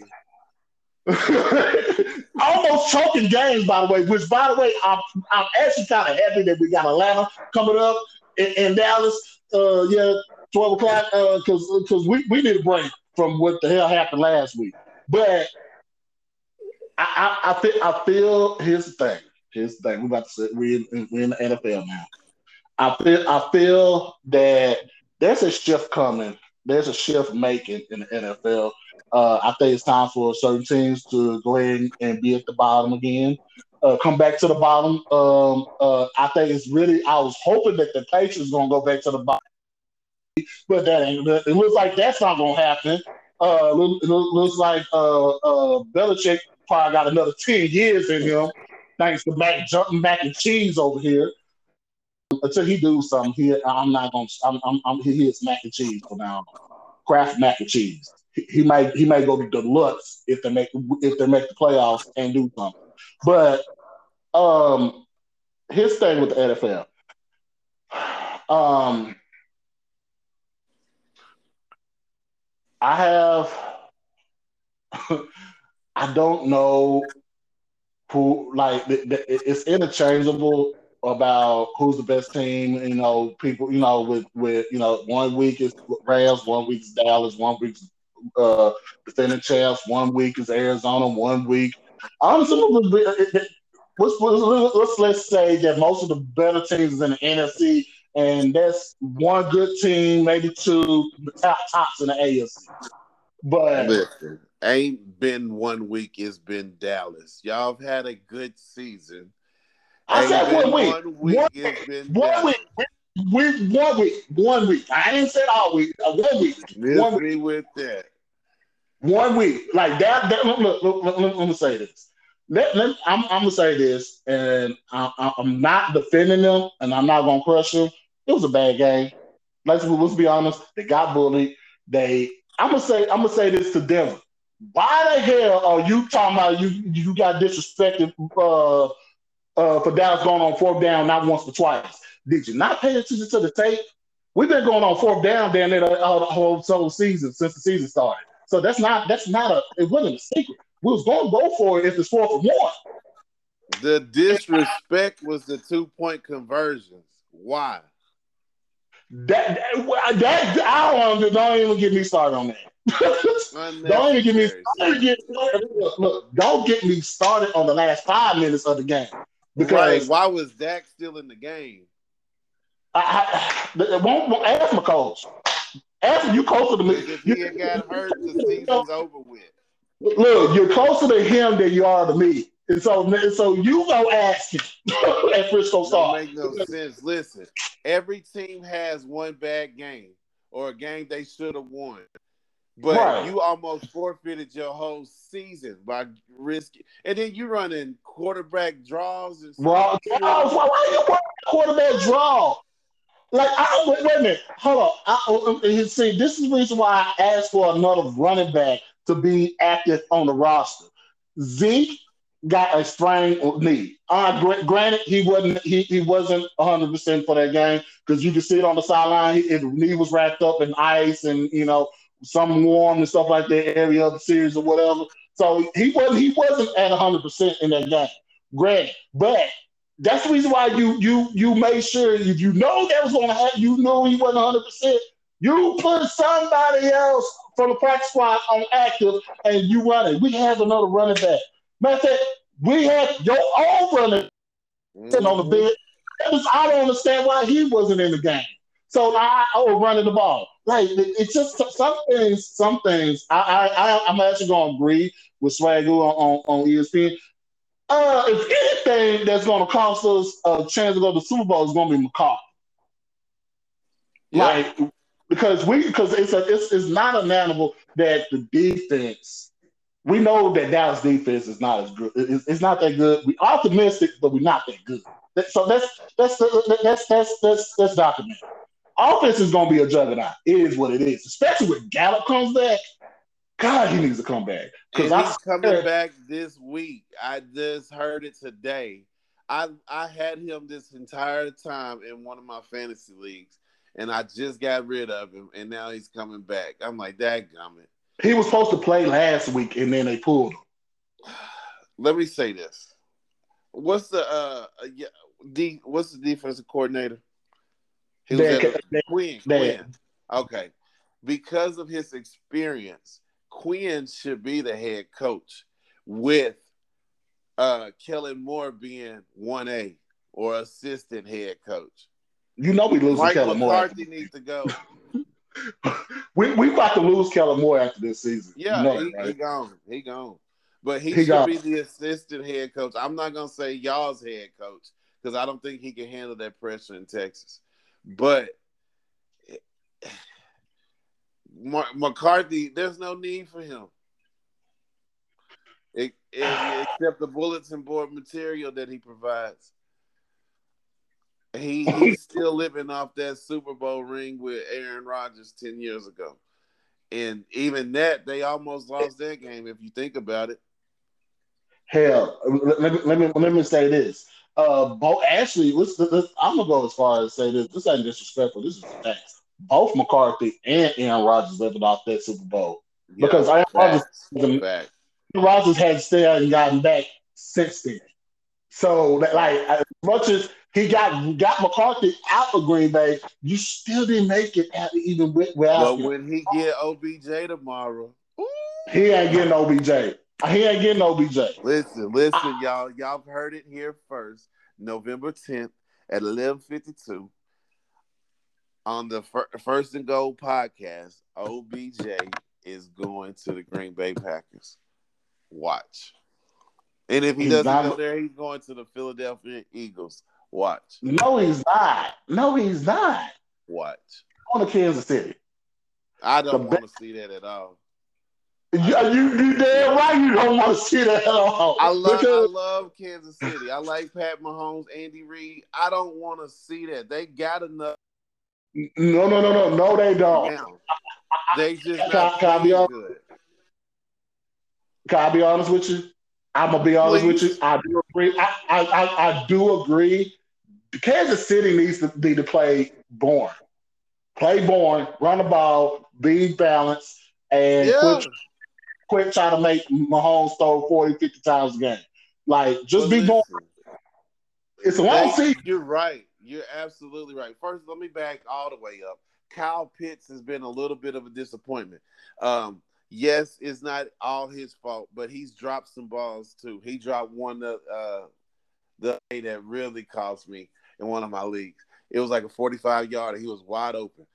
almost choking games, by the way. Which, by the way, I'm actually kind of happy that we got Atlanta coming up in Dallas. Yeah, 12 o'clock. Because we need a break from what the hell happened last week. But I feel. Here's the thing. Here's the thing. We about to say we in the NFL now. I feel that there's a shift coming. There's a shift making in the NFL. I think it's time for certain teams to go ahead and be at the bottom again. Come back to the bottom. I think it's really. I was hoping that the Patriots gonna go back to the bottom, but that ain't. It looks like that's not gonna happen. Looks like Belichick probably got another 10 years in him, thanks to Mac and Cheese over here. until he do something, I'm not gonna. He is mac and cheese for now. Kraft mac and cheese. He may go to deluxe if they make the playoffs and do something. But um, his thing with the NFL. Um, I have. I don't know who like it's interchangeable about who's the best team. People. With 1 week is Rams, 1 week is Dallas, 1 week is defending champs, 1 week is Arizona, 1 week. Honestly, let's say that most of the better teams is in the NFC, and that's one good team, maybe two tops in the AFC. But Listen, ain't been 1 week. It's been Dallas. Y'all have had a good season. I Ain't said been 1 week, 1 week. one It's week, been one Dallas. week, 1 week. I didn't say all week. 1 week, Miss 1 week, me with that. 1 week. Like that. Let me say this. I'm gonna say this, and I'm not defending them, and I'm not gonna crush them. It was a bad game. Let's be honest. They got bullied. They. I'm gonna say this to Denver. Why the hell are you talking about you got disrespected for Dallas going on fourth down not once but twice? Did you not pay attention to the tape? We've been going on fourth down down there the whole season since the season started. So that's not it wasn't a secret. We was going to go for it if it's 4th and 1. The disrespect was the 2-point conversions. Why? Don't even get me started on that. Don't even get me Unnecessary, started. sir. Look, don't get me started on the last 5 minutes of the game Right. because Why was Dak still in the game? won't ask my coach. Ask him, you closer to me. Because if he had got hurt, the season's over with. Look, you're closer to him than you are to me. And so you go ask him at Frisco Don't Star. make no sense. Listen, every team has one bad game or a game they should have won. But Right. you almost forfeited your whole season by risking. And then you running quarterback draws and some Why shit. are you working quarterback draw? Like, wait a minute. Hold on. See, this is the reason why I asked for another running back to be active on the roster. Zeke got a sprained knee. Granted, he wasn't 100% for that game because you could see it on the sideline. His knee was wrapped up in ice and some warm and stuff like that area of the series or whatever. So he wasn't at 100% in that game. Granted, but that's the reason why you made sure if you know that was going to happen, you know he wasn't 100%. You put somebody else from the practice squad on active and you run it. We have another running back. Matter of fact, we had your own running on the Mm-hmm. bed. I don't understand why he wasn't in the game. So I was running the ball. Like it's just some things. Some things. I'm actually going to agree with Swagoo on ESPN. If anything that's going to cost us a chance to go to the Super Bowl is going to be McCarthy. Yep. Like because it's not undeniable that the defense. We know that Dallas defense is not as good. It's not that good. We're optimistic, but we're not that good. So that's documented. Offense is going to be a juggernaut. It is what it is. Especially when Gallup comes back. God, he needs to come back because And I he's coming back this week. I just heard it today. I had him this entire time in one of my fantasy leagues, and I just got rid of him, and now he's coming back. I'm like, dadgummit. he was supposed to play last week, and then they pulled him. Let me say this. What's the what's the defensive coordinator? He was Quinn. Okay. Because of his experience, Quinn should be the head coach with Kellen Moore being 1A or assistant head coach. We losing Mike Kellen Moore. McCarthy needs to go. we about to lose Kellen Moore after this season. Yeah, that, right? he gone. He gone. But he should gone. be the assistant head coach. I'm not going to say y'all's head coach because I don't think he can handle that pressure in Texas. But McCarthy, there's no need for him. Except the bulletin board material that he provides. He's still living off that Super Bowl ring with Aaron Rodgers 10 years ago. And even that, they almost lost that game if you think about it. Hell, let me say this. Actually, I'm gonna go as far as say this. This ain't disrespectful. This is facts. Both McCarthy and Aaron Rodgers living off that Super Bowl Yeah, because Aaron facts. Facts. Rodgers had still hadn't gotten back since then. So that, like, as much as he got McCarthy out of Green Bay, you still didn't make it out, even without But him. when he get OBJ tomorrow, ooh, He ain't getting OBJ. He ain't getting OBJ. listen, y'all. Y'all heard it here first. November 10th at 11:52 on the First and Goal podcast. OBJ is going to the Green Bay Packers. Watch. And if he doesn't go there, he's going to the Philadelphia Eagles. Watch. No, he's not. No, he's not. Watch. On to Kansas City. I don't want to see that at all. You damn right you don't want to see that at all. I love Kansas City. I like Pat Mahomes, Andy Reid. I don't want to see that. They got enough. No, they don't. Now, they just not playing good. Can I be honest with you? I'm gonna be honest with you. I do agree. I do agree. Kansas City needs to be to play boring. Play boring, run the ball, be balanced, and quit trying to make Mahomes throw 40, 50 times a game. Like, just be boring. It's a long season. You're right. You're absolutely right. First, let me back all the way up. Kyle Pitts has been a little bit of a disappointment. Yes, it's not all his fault, but he's dropped some balls too. He dropped one the day that really cost me in one of my leagues. It was like a 45-yarder. He was wide open.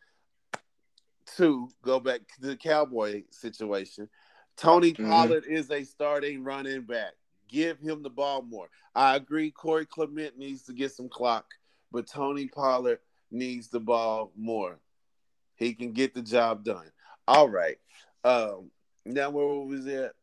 Two, go back to the Cowboy situation. Tony Pollard is a starting running back. Give him the ball more. I agree Corey Clement needs to get some clock, but Tony Pollard needs the ball more. He can get the job done. All right. Now where was it?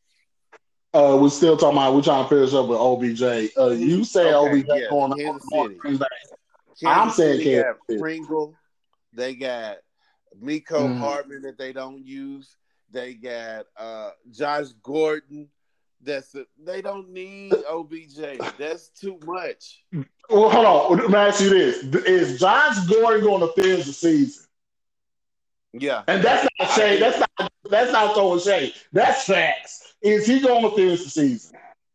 We're still talking about. We're trying to finish up with OBJ. You say OBJ going Kansas City. I'm saying Kansas City. Pringle. They got Miko Hardman that they don't use. They got Josh Gordon. They don't need OBJ. That's too much. Well, hold on. Let me ask you this: is Josh Gordon going to finish the season? Yeah, and that's not shade. That's not throwing shade. That's facts. Is he going to finish the season?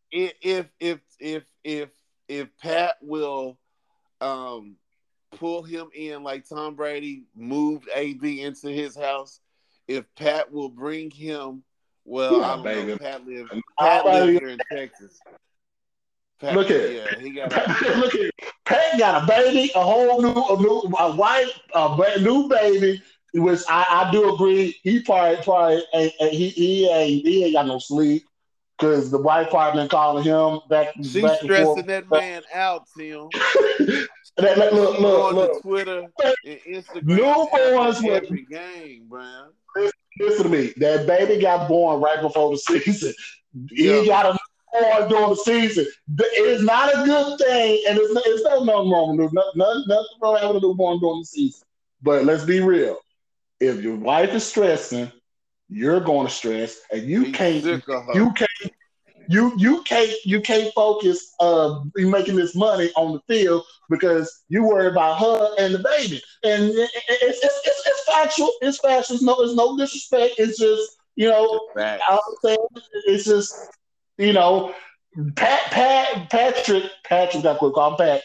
If Pat will pull him in like Tom Brady moved AB into his house, if Pat will bring him, well, I don't know. Pat lives here in Texas. Pat, look at Pat got a baby, a wife, a brand new baby. Which I do agree. He probably he ain't got no sleep because the wife probably been calling him back. She's back stressing that man out, Tim. Look, to Twitter and Instagram newborns every game, Brian. Listen to me. That baby got born right before the season. He got a newborn during the season. It's not a good thing, and it's nothing wrong with nothing wrong having a newborn during the season. But let's be real. If your wife is stressing, you're going to stress, and you can't focus making this money on the field because you worry about her and the baby. And it's factual. It's factual. It's no disrespect. It's just I'm saying it's just Patrick got quick call Pat.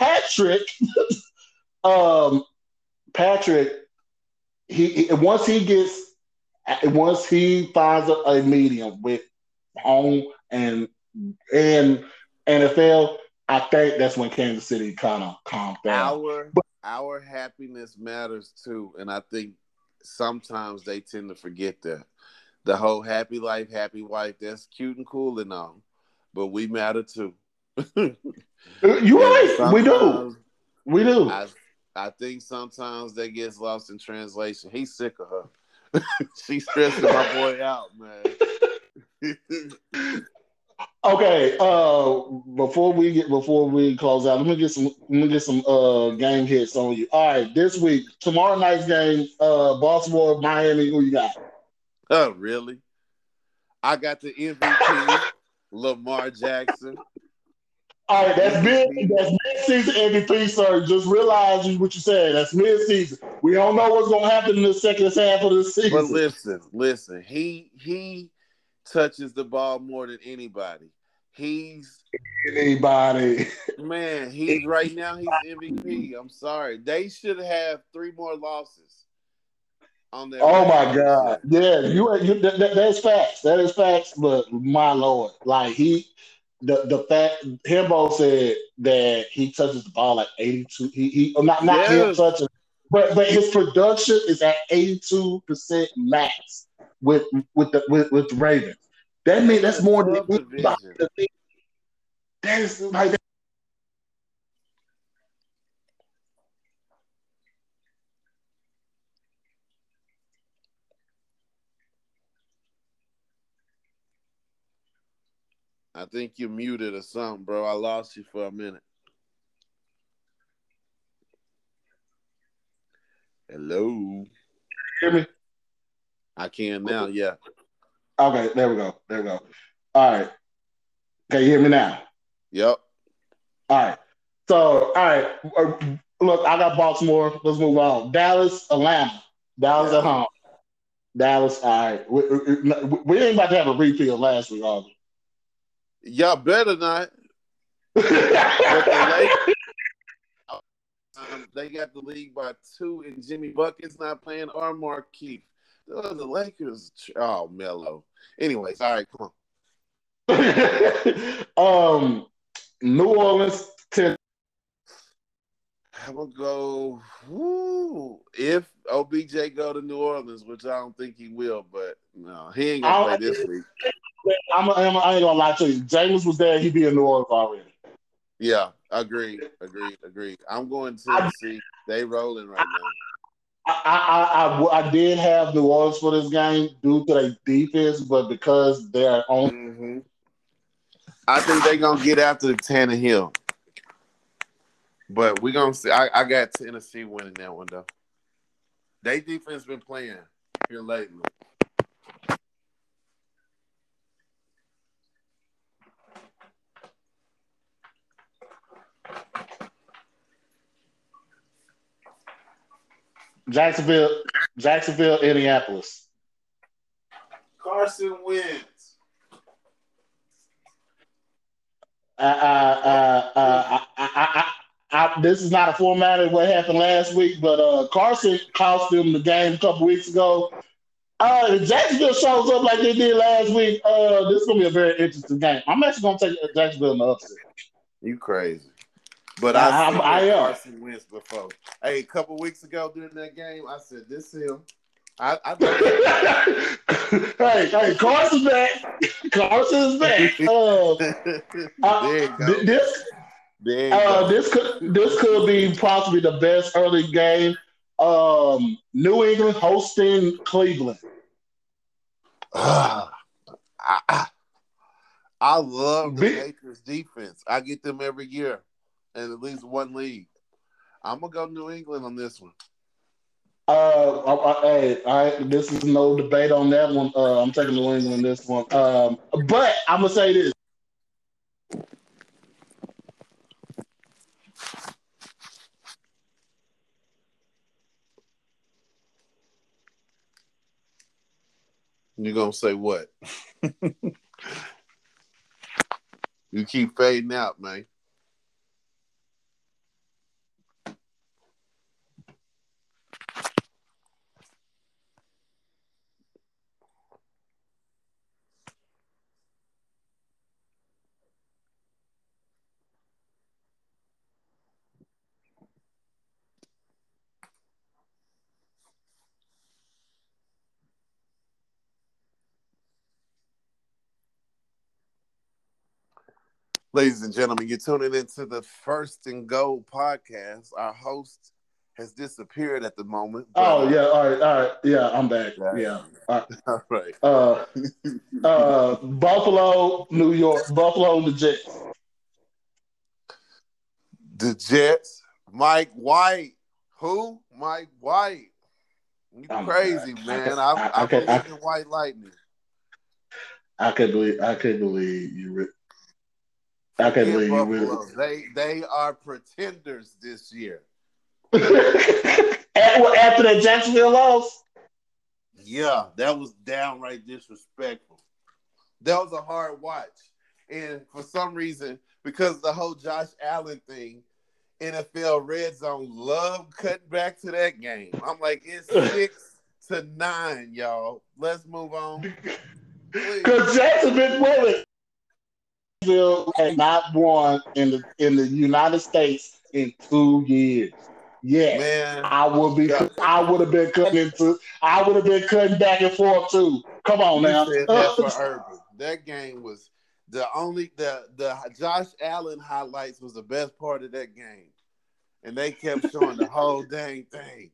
Patrick. Once he finds a medium with home and NFL, I think that's when Kansas City kind of calms down. Our happiness matters too, and I think sometimes they tend to forget that. The whole happy life, happy wife, that's cute and cool and all, but we matter too. You're right. We do. I think sometimes that gets lost in translation. He's sick of her. She's stressing my boy out, man. Okay. Before we close out, let me get some game hits on you. All right, this week, tomorrow night's game, Baltimore, Miami. Who you got? Oh, really? I got the MVP, Lamar Jackson. All right, MVP. that's mid-season MVP, sir. Just realize what you said. That's mid-season. We don't know what's gonna happen in the second half of the But season. listen. He touches the ball more than anybody. He's Anybody? he's right now he's MVP. I'm sorry. They should have three more losses on their Oh record my this God! year. Yeah, that's facts. That is facts. But my lord, like the fact Himbo said that he touches the ball like 82. Not him Yes. touching, but his production is at 82% max with with the Ravens. That They means in that's a more than tough anybody. division. That is like I think you're muted or something, bro. I lost you for a minute. Hello. hear me. I can now, yeah. Okay, there we go. There we go. All right. Can you hear me now? Yep. All right. So, all right. Look, I got Baltimore. Let's move on. Dallas, Atlanta. Dallas at Yeah. home. Dallas. All right. We ain't about to have a repeat of last week, are Y'all better not. we? But the Lakers, they got the league by two, and Jimmy Bucket's not playing or Markeith. The Lakers, oh, Melo. Anyways, all right, come on. um, New Orleans, I'm gonna go. Woo, if OBJ go to New Orleans, which I don't think he will, but no, he ain't gonna play I, this week. I ain't gonna lie to you. James was there. He'd be in New Orleans already. Yeah, agreed. I'm going I, Tennessee. They rolling right now. I did have New Orleans for this game due to their defense, but because they're on. Mm-hmm. I think they gonna get after the Tannehill, but we gonna see. I got Tennessee winning that one though. They defense been playing here lately. Jacksonville, Jacksonville, Indianapolis. Carson wins. This is not a format of what happened last week, but Carson cost them the game a couple weeks ago. If Jacksonville shows up like they did last week, this is gonna be a very interesting game. I'm actually gonna take Jacksonville in the upset. You crazy. But I seen I that am. Carson Wentz before. Hey, a couple weeks ago during that game, I said, this him. I know that guy. Hey, Carson's back. Carson's back. There you go. This There you go. this could be possibly the best early game. New England hosting Cleveland. Ah, I, I love the Big, Patriots defense. I get them every year in at least one league. I'm gonna go New England on this one. hey, this is no debate on that one. I'm taking New England this one. But I'm gonna say this. You gonna say what? You keep fading out, man. Ladies and gentlemen, you're tuning into the First and Goal podcast. Our host has disappeared at the moment. But, oh yeah, all right, yeah, I'm back. Yeah, all all right. right. Buffalo, New York, Buffalo, the Jets. The Jets, Mike White. Who? Mike White. You Oh my crazy, God, man. I believe in White Lightning. I can't believe you. I can't Forget believe you really. Buffalo. They are pretenders this year. After that Jacksonville loss. Yeah, that was downright disrespectful. That was a hard watch. And for some reason, because the whole Josh Allen thing, NFL Red Zone love cutting back to that game. I'm like, it's 6-9, y'all. Let's move on. Because Jacksonville had not won in the United States in 2 years. Yes, man, I would have been cutting back and forth too. Come on you now. said that for Urban. That game was the Josh Allen highlights was the best part of that game. And they kept showing the whole dang thing.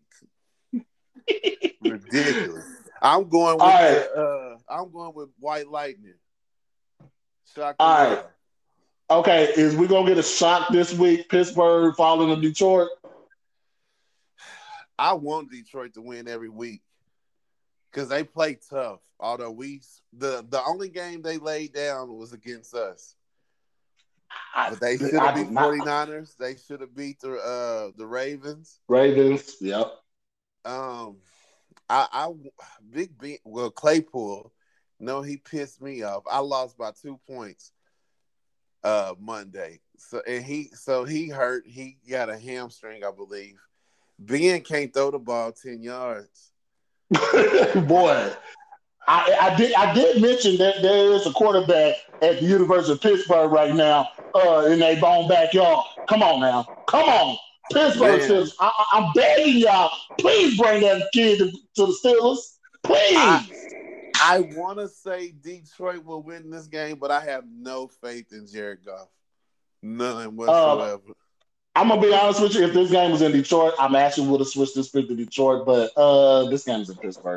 Ridiculous. I'm going with White Lightning. Shock the All world. right. Okay, is we gonna get a shock this week? Pittsburgh falling to Detroit. I want Detroit to win every week because they play tough. Although the only game they laid down was against us. But they should have beat 49ers. They should have beat the Ravens. Ravens, yep. Big B. Well, Claypool. No, he pissed me off. I lost by 2 points Monday. So he hurt. He got a hamstring, I believe. Ben can't throw the ball 10 yards. Boy, I did mention that there is a quarterback at the University of Pittsburgh right now in their bone backyard. Come on now. Come on. Pittsburgh Steelers. I'm begging y'all, please bring that kid to the Steelers. Please. I want to say Detroit will win this game, but I have no faith in Jared Goff. None whatsoever. I'm going to be honest with you. If this game was in Detroit, I actually would have switched this pick to Detroit, but this game is in Pittsburgh.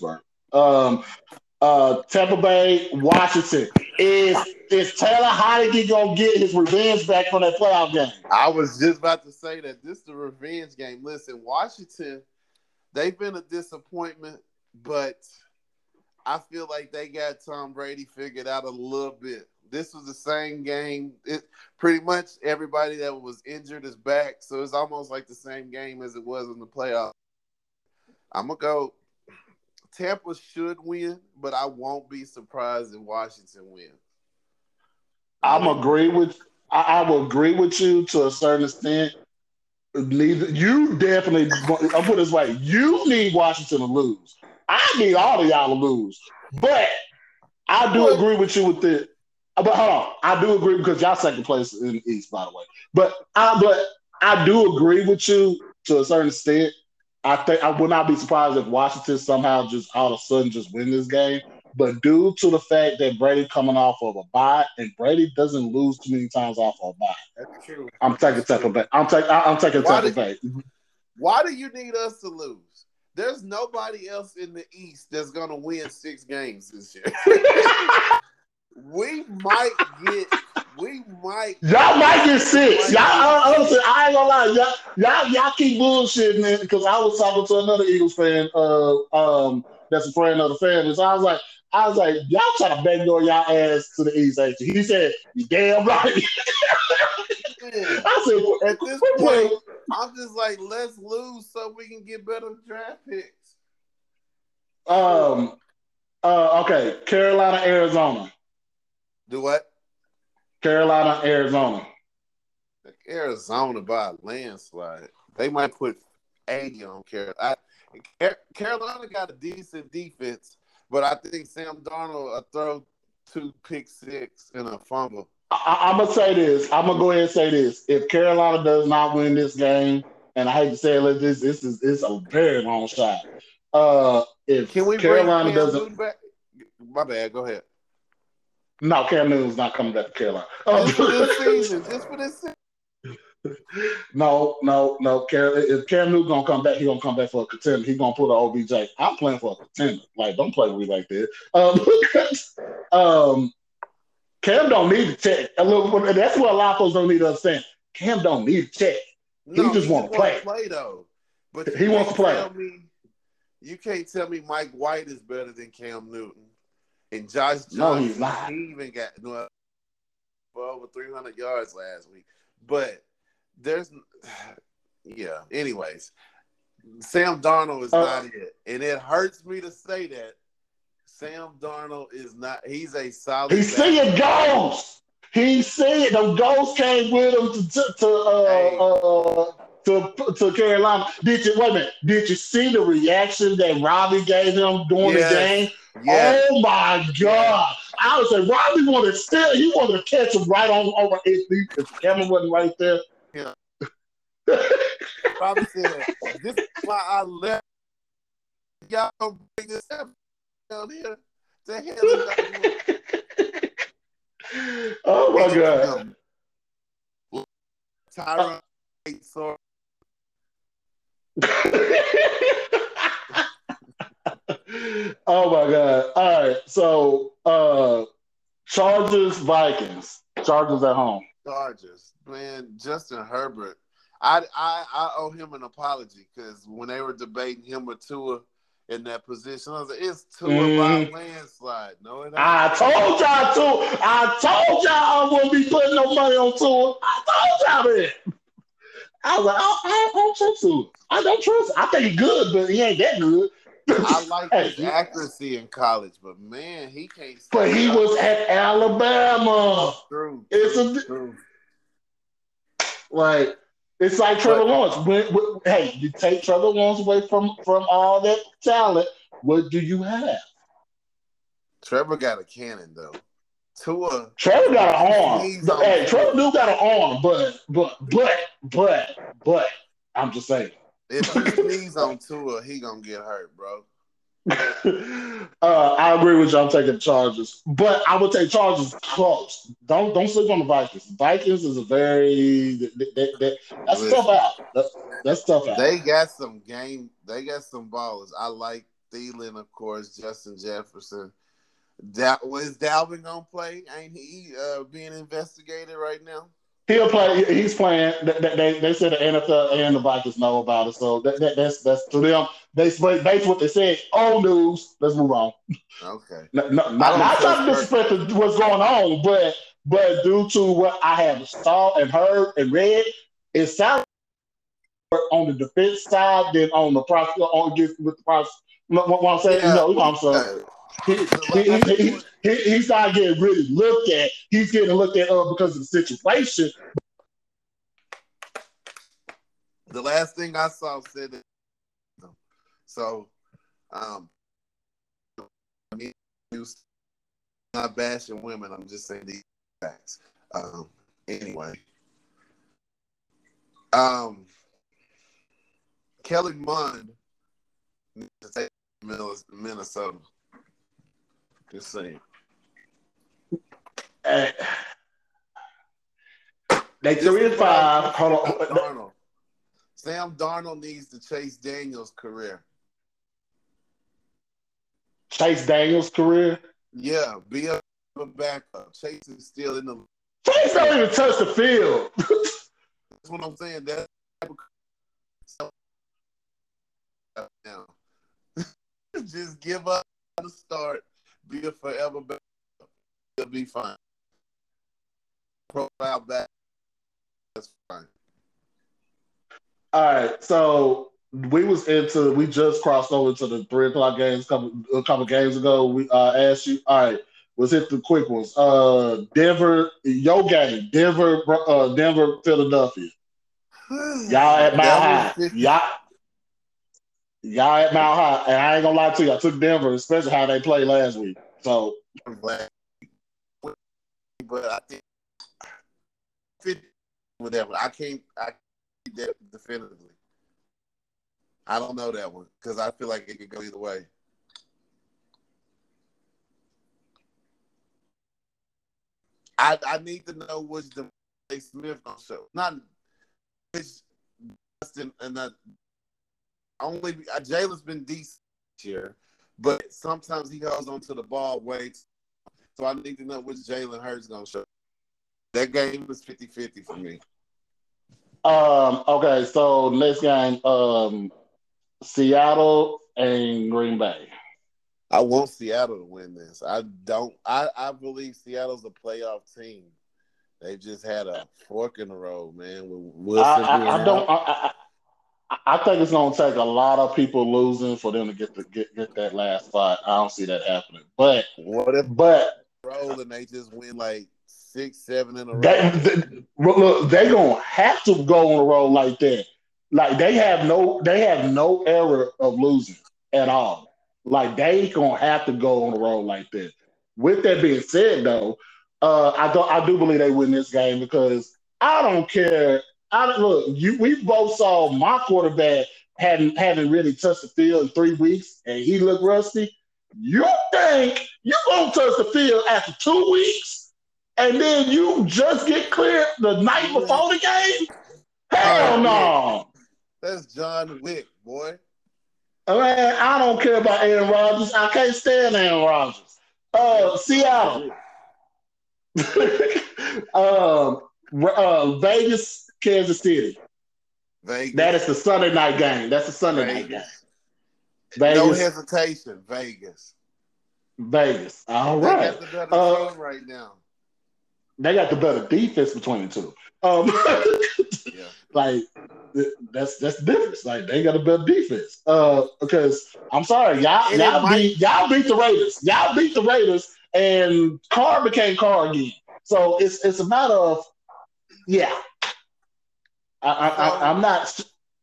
Tampa Bay, Washington. Is Taylor Heinicke going to get his revenge back from that playoff game? I was just about to say that this is the revenge game. Listen, Washington, they've been a disappointment, but I feel like they got Tom Brady figured out a little bit. This was the same game. Pretty much everybody that was injured is back, so it's almost like the same game as it was in the playoffs. I'm going to go Tampa should win, but I won't be surprised if Washington wins. I will agree with you to a certain extent. You definitely. I'll put it this way: you need Washington to lose. I need all of y'all to lose, but I do agree with you with it. But hold on, I do agree because y'all second place in the East, by the way. But I do agree with you to a certain extent. I think I would not be surprised if Washington somehow just all of a sudden just win this game. But due to the fact that Brady coming off of a bye, and Brady doesn't lose too many times off of a bye. That's true. I'm taking Tampa Bay. I'm taking Tampa Bay. Why do you need us to lose? There's nobody else in the East that's going to win 6 games this year. We might get. Y'all might get 6. Y'all, honestly, I ain't gonna lie. Y'all keep bullshitting it because I was talking to another Eagles fan. That's a friend of the family. So I was like, y'all trying to backdoor y'all ass to the East, ain't you? He said, "You damn right." I said, at this point, I'm just like, let's lose so we can get better draft picks. Okay, Carolina, Arizona. Do what? Carolina, Arizona. Arizona by a landslide. They might put 80 on Carolina. Carolina got a decent defense, but I think Sam Darnold will throw 2 pick 6 and a fumble. I'm going to say this. I'm going to go ahead and say this. If Carolina does not win this game, and I hate to say it, this is a very long shot. If Can we Carolina bring Cam Newton back? My bad. Go ahead. No, Cam Newton's not coming back to Carolina. Just for this season. No. If Cam Newton gonna come back, he gonna come back for a contender. He gonna put an OBJ. I'm playing for a contender. Like, don't play with me like that. Um, Cam don't need to check. That's what a lot of folks don't need to understand. Cam don't need to check. He No, just he want just to want play. to play though. But He wants to play. you can't tell me Mike White is better than Cam Newton. And Josh No, he's Johnson, not. he even got for over 300 yards last week. But there's, yeah. Anyways, Sam Darnold is not it, and it hurts me to say that. Sam Darnold is not. He's a solid. He's seeing ghosts. He's seeing them ghosts came with him to Carolina. Did you wait a minute? Did you see the reaction that Robbie gave him during the game? Yes. Oh my God! I was like, Robbie wanted to steal. He wanted to catch him right on over his feet because the camera wasn't right there. Yeah. Robbie said, "This is why I left. Y'all don't bring this up down here. The hell is that?" Oh my God! Tyron, sorry. Oh my God! All right, so Chargers Vikings. Chargers at home. Chargers, man. Justin Herbert. I owe him an apology because when they were debating him or Tua in that position, I was like, "It's Tua by landslide." No, it ain't. I told y'all I wouldn't be putting no money on Tua. I told y'all that. I was like, I don't trust Tua. I don't trust him. I think he's good, but he ain't that good. I like his accuracy in college, but man, he can't. But he was at Alabama. True. Like, it's like Trevor Lawrence. Hey, you take Trevor Lawrence away from all that talent. What do you have? Trevor got a cannon though. Trevor got an arm. Hey, Trevor do got an arm, but I'm just saying. If he sneezes on Tua, he gonna get hurt, bro. I agree with you. I'm taking Chargers, but I would take Chargers close. Don't sleep on the Vikings. Vikings is a very that's tough out. That's tough out. They got some ballers. I like Thielen, of course, Justin Jefferson. Was Dalvin gonna play? Ain't he being investigated right now? He'll play. He's playing. They said the NFL and the Vikings know about it, so that's to them. That's what they said. Old news. Let's move on. Okay. Not trying to disrespect what's going on, but due to what I have saw and heard and read, it sounds on the defense side than on the process with the process. What I'm saying, yeah. I'm sorry. He's not getting really looked at. He's getting looked at because of the situation. The last thing I saw said that. So, not bashing women. I'm just saying these facts. Anyway, Kelly Mond needs to take Minnesota. Just saying. They 3-5. Hold on. Sam Darnold needs to chase Daniels' career. Chase Daniels' career? Yeah, be a backup. Chase is still in the. Chase don't even touch the field. That's what I'm saying. That's now. Just give up the start. Be a forever backup. It'll be fine. Profile back. That's fine. All right, so we just crossed over to the 3:00 games a couple games ago. We asked you. All right, let's hit the quick ones. Denver, your game, Denver, Philadelphia. Y'all at Mile High. Y'all at Mile High, and I ain't gonna lie to you. I took Denver, especially how they played last week. So, but I think whatever. I can't that definitively. I don't know that one because I feel like it could go either way. I need to know which DeVonta Smith gonna show. Not which Justin and only Jalen's been decent this year, but sometimes he holds onto the ball way. So I need to know which Jalen Hurts gonna show. That game was 50-50 for me. Okay, so next game, Seattle and Green Bay. I want Seattle to win this. I don't. I believe Seattle's a playoff team. They just had a fork in the road, man. With Wilson being I don't. out. I think it's going to take a lot of people losing for them to get that last spot. I don't see that happening. What if But roll and they just win like 6, 7 in a row? look, they gonna have to go on a roll like that. Like they have no error of losing at all. Like they gonna have to go on a roll like that. With that being said, though, I do believe they win this game because I don't care. I don't look. We both saw my quarterback hadn't really touched the field in 3 weeks, and he looked rusty. You think you're gonna touch the field after 2 weeks? And then you just get cleared the night before the game? Hell no. That's John Wick, boy. Man, I don't care about Aaron Rodgers. I can't stand Aaron Rodgers. Seattle. Vegas, Kansas City. Vegas. That is the Sunday night game. That's the Sunday night game. Vegas. No hesitation. Vegas. All right. They got the better team right now. They got the better defense between the two. Yeah. Like that's the difference. Like they got a better defense. Because I'm sorry, y'all beat the Raiders. Y'all beat the Raiders, and Carr became Carr again. So it's a matter of I'm not.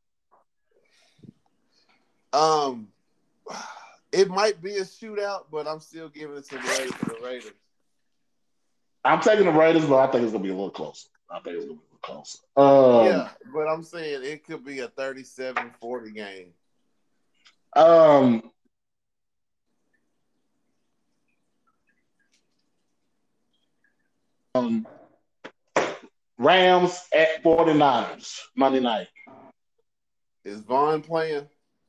It might be a shootout, but I'm still giving it to the Raiders. I'm taking the Raiders, but I think it's gonna be a little closer. Yeah, but I'm saying it could be a 37-40 game. Rams at 49ers Monday night. Is Vaughn playing?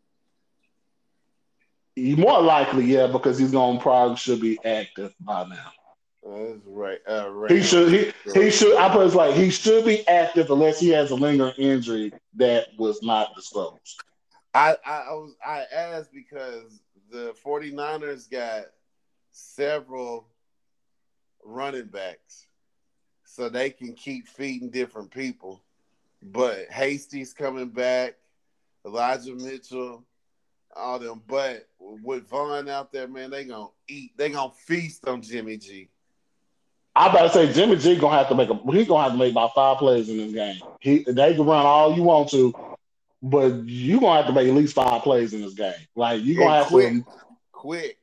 More likely, yeah, because he's gonna probably should be active by now. That's right. He should. I put it like he should be active unless he has a lingering injury that was not disclosed. I asked because the 49ers got several running backs, so they can keep feeding different people. But Hasty's coming back, Elijah Mitchell, all them. But with Vaughn out there, man, they gonna eat. They gonna feast on Jimmy G. I about to say Jimmy G gonna have to make about 5 plays in this game. They can run all you want to, but you gonna have to make at least 5 plays in this game. Like you gonna have to quick.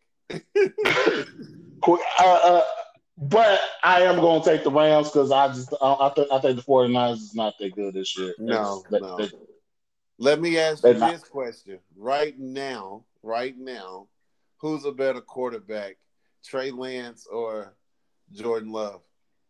But I am gonna take the Rams because I think the 49ers is not that good this year. No. Let me ask you this question right now. Who's a better quarterback, Trey Lance or Jordan Love?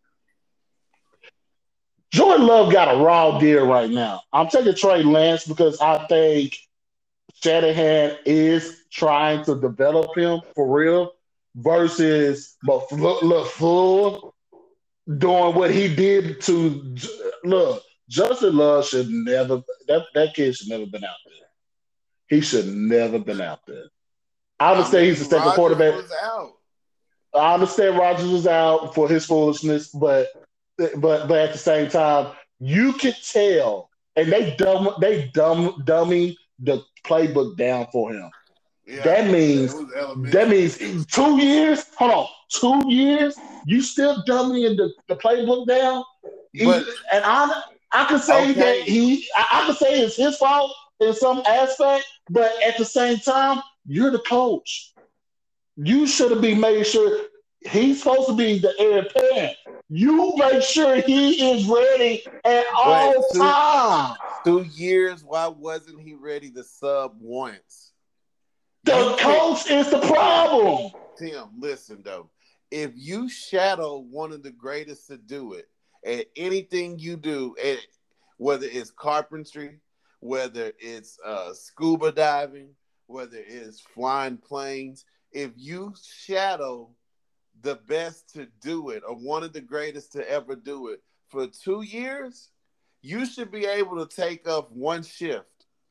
Jordan Love got a raw deal right now. I'm taking Trey Lance because I think Shanahan is trying to develop him for real versus LaFleur doing what he did to look. Justin Love should never that kid should never been out there. He should never been out there. I understand he's the second quarterback. Was out. I understand Rodgers was out for his foolishness, but at the same time, you could tell, and they dummy the playbook down for him. Yeah, that means 2 years. Hold on, 2 years. You still dummying the playbook down, and I could say that I could say it's his fault in some aspect, but at the same time, you're the coach. You should have been made sure he's supposed to be the heir apparent. You make sure he is ready at all times. 2 years, why wasn't he ready to sub once? The coach is the problem. Tim, listen, though. If you shadow one of the greatest to do it, at anything you do, whether it's carpentry, whether it's scuba diving, whether it's flying planes. If you shadow the best to do it or one of the greatest to ever do it for 2 years, you should be able to take up one shift.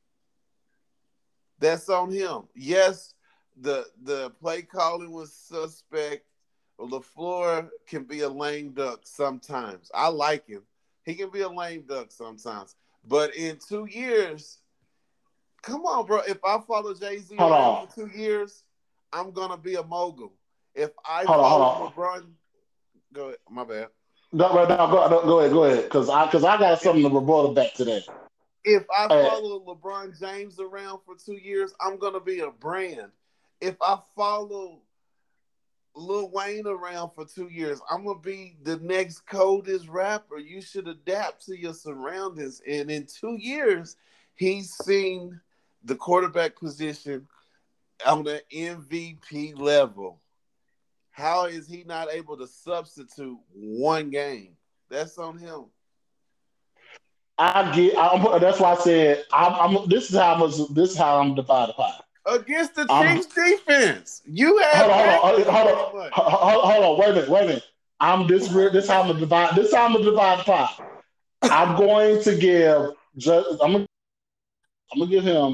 That's on him. Yes, the play calling was suspect. LaFleur can be a lame duck sometimes. I like him. He can be a lame duck sometimes. But in 2 years, come on, bro. If I follow Jay-Z around for 2 years, I'm going to be a mogul. If I follow LeBron, go ahead. My bad. Go ahead. Because I got something to rebuttal back to that. If I follow LeBron James around for 2 years, I'm going to be a brand. If I follow Lil Wayne around for 2 years, I'm going to be the next coldest rapper. You should adapt to your surroundings. And in 2 years, he's seen the quarterback position on the MVP level. How is he not able to substitute one game? That's on him. That's why I said this is how I'm divided pie. Against the Chiefs defense. You have hold on, wait a minute. This is how I'm gonna divide the pie. I'm going to give I'm gonna give him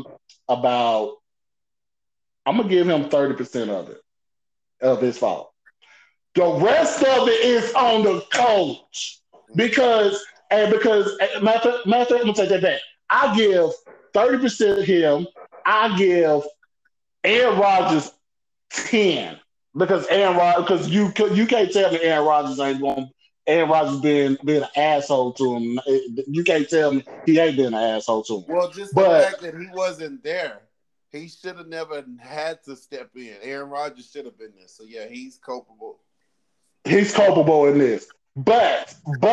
30% of his fault. The rest of it is on the coach. Because matter of fact, I'm gonna take that back. I give 30% him. I give Aaron Rodgers 10 because you can't tell me Aaron Rodgers ain't going. Aaron Rodgers being an asshole to him. You can't tell me he ain't been an asshole to him. Well, just the fact that he wasn't there, he should have never had to step in. Aaron Rodgers should have been there. So yeah, he's culpable. He's culpable in this, but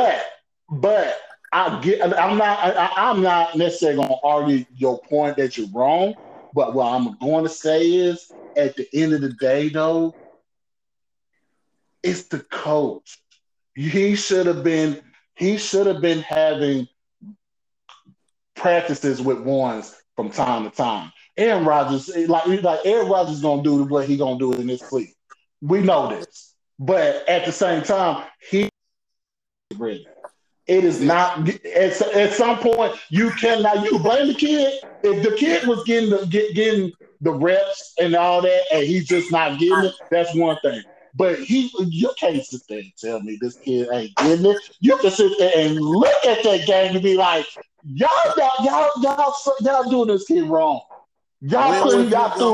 I'm not necessarily going to argue your point that you're wrong. But what I'm going to say is, at the end of the day, though, it's the coach. He should have been having practices with ones from time to time. Aaron Rodgers, like Aaron Rodgers, gonna do what he gonna do in this league. We know this, but at the same time, he ready. It is not at some point you cannot blame the kid. If the kid was getting the reps and all that, and he's just not getting it, that's one thing. But you can't sit there and tell me this kid ain't getting it. You can sit there and look at that game and be like, y'all doing this kid wrong. When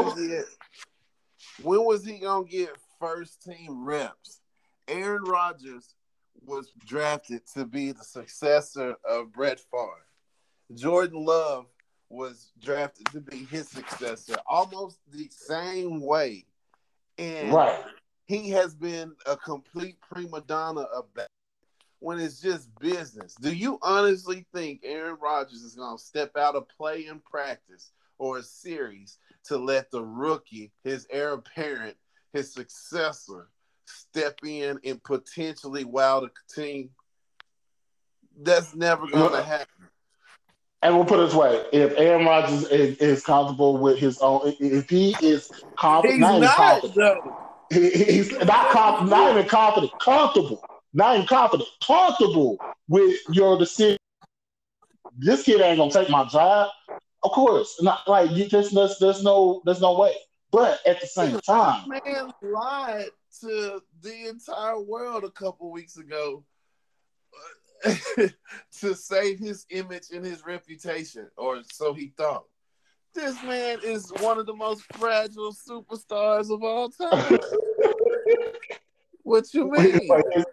was he gonna get first team reps? Aaron Rodgers was drafted to be the successor of Brett Favre. Jordan Love was drafted to be his successor, almost the same way. And he has been a complete prima donna of that when it's just business. Do you honestly think Aaron Rodgers is going to step out of play in practice or a series to let the rookie, his heir apparent, his successor, step in and potentially wow the team? That's never going to happen. And we'll put it this way: if Aaron Rodgers is comfortable with his own, if he is confident, he's not even confident, comfortable with your decision. This kid ain't gonna take my job. Of course, not like you. There's no way. But at the same time, man lied to the entire world a couple weeks ago to save his image and his reputation, or so he thought. This man is one of the most fragile superstars of all time. What you mean?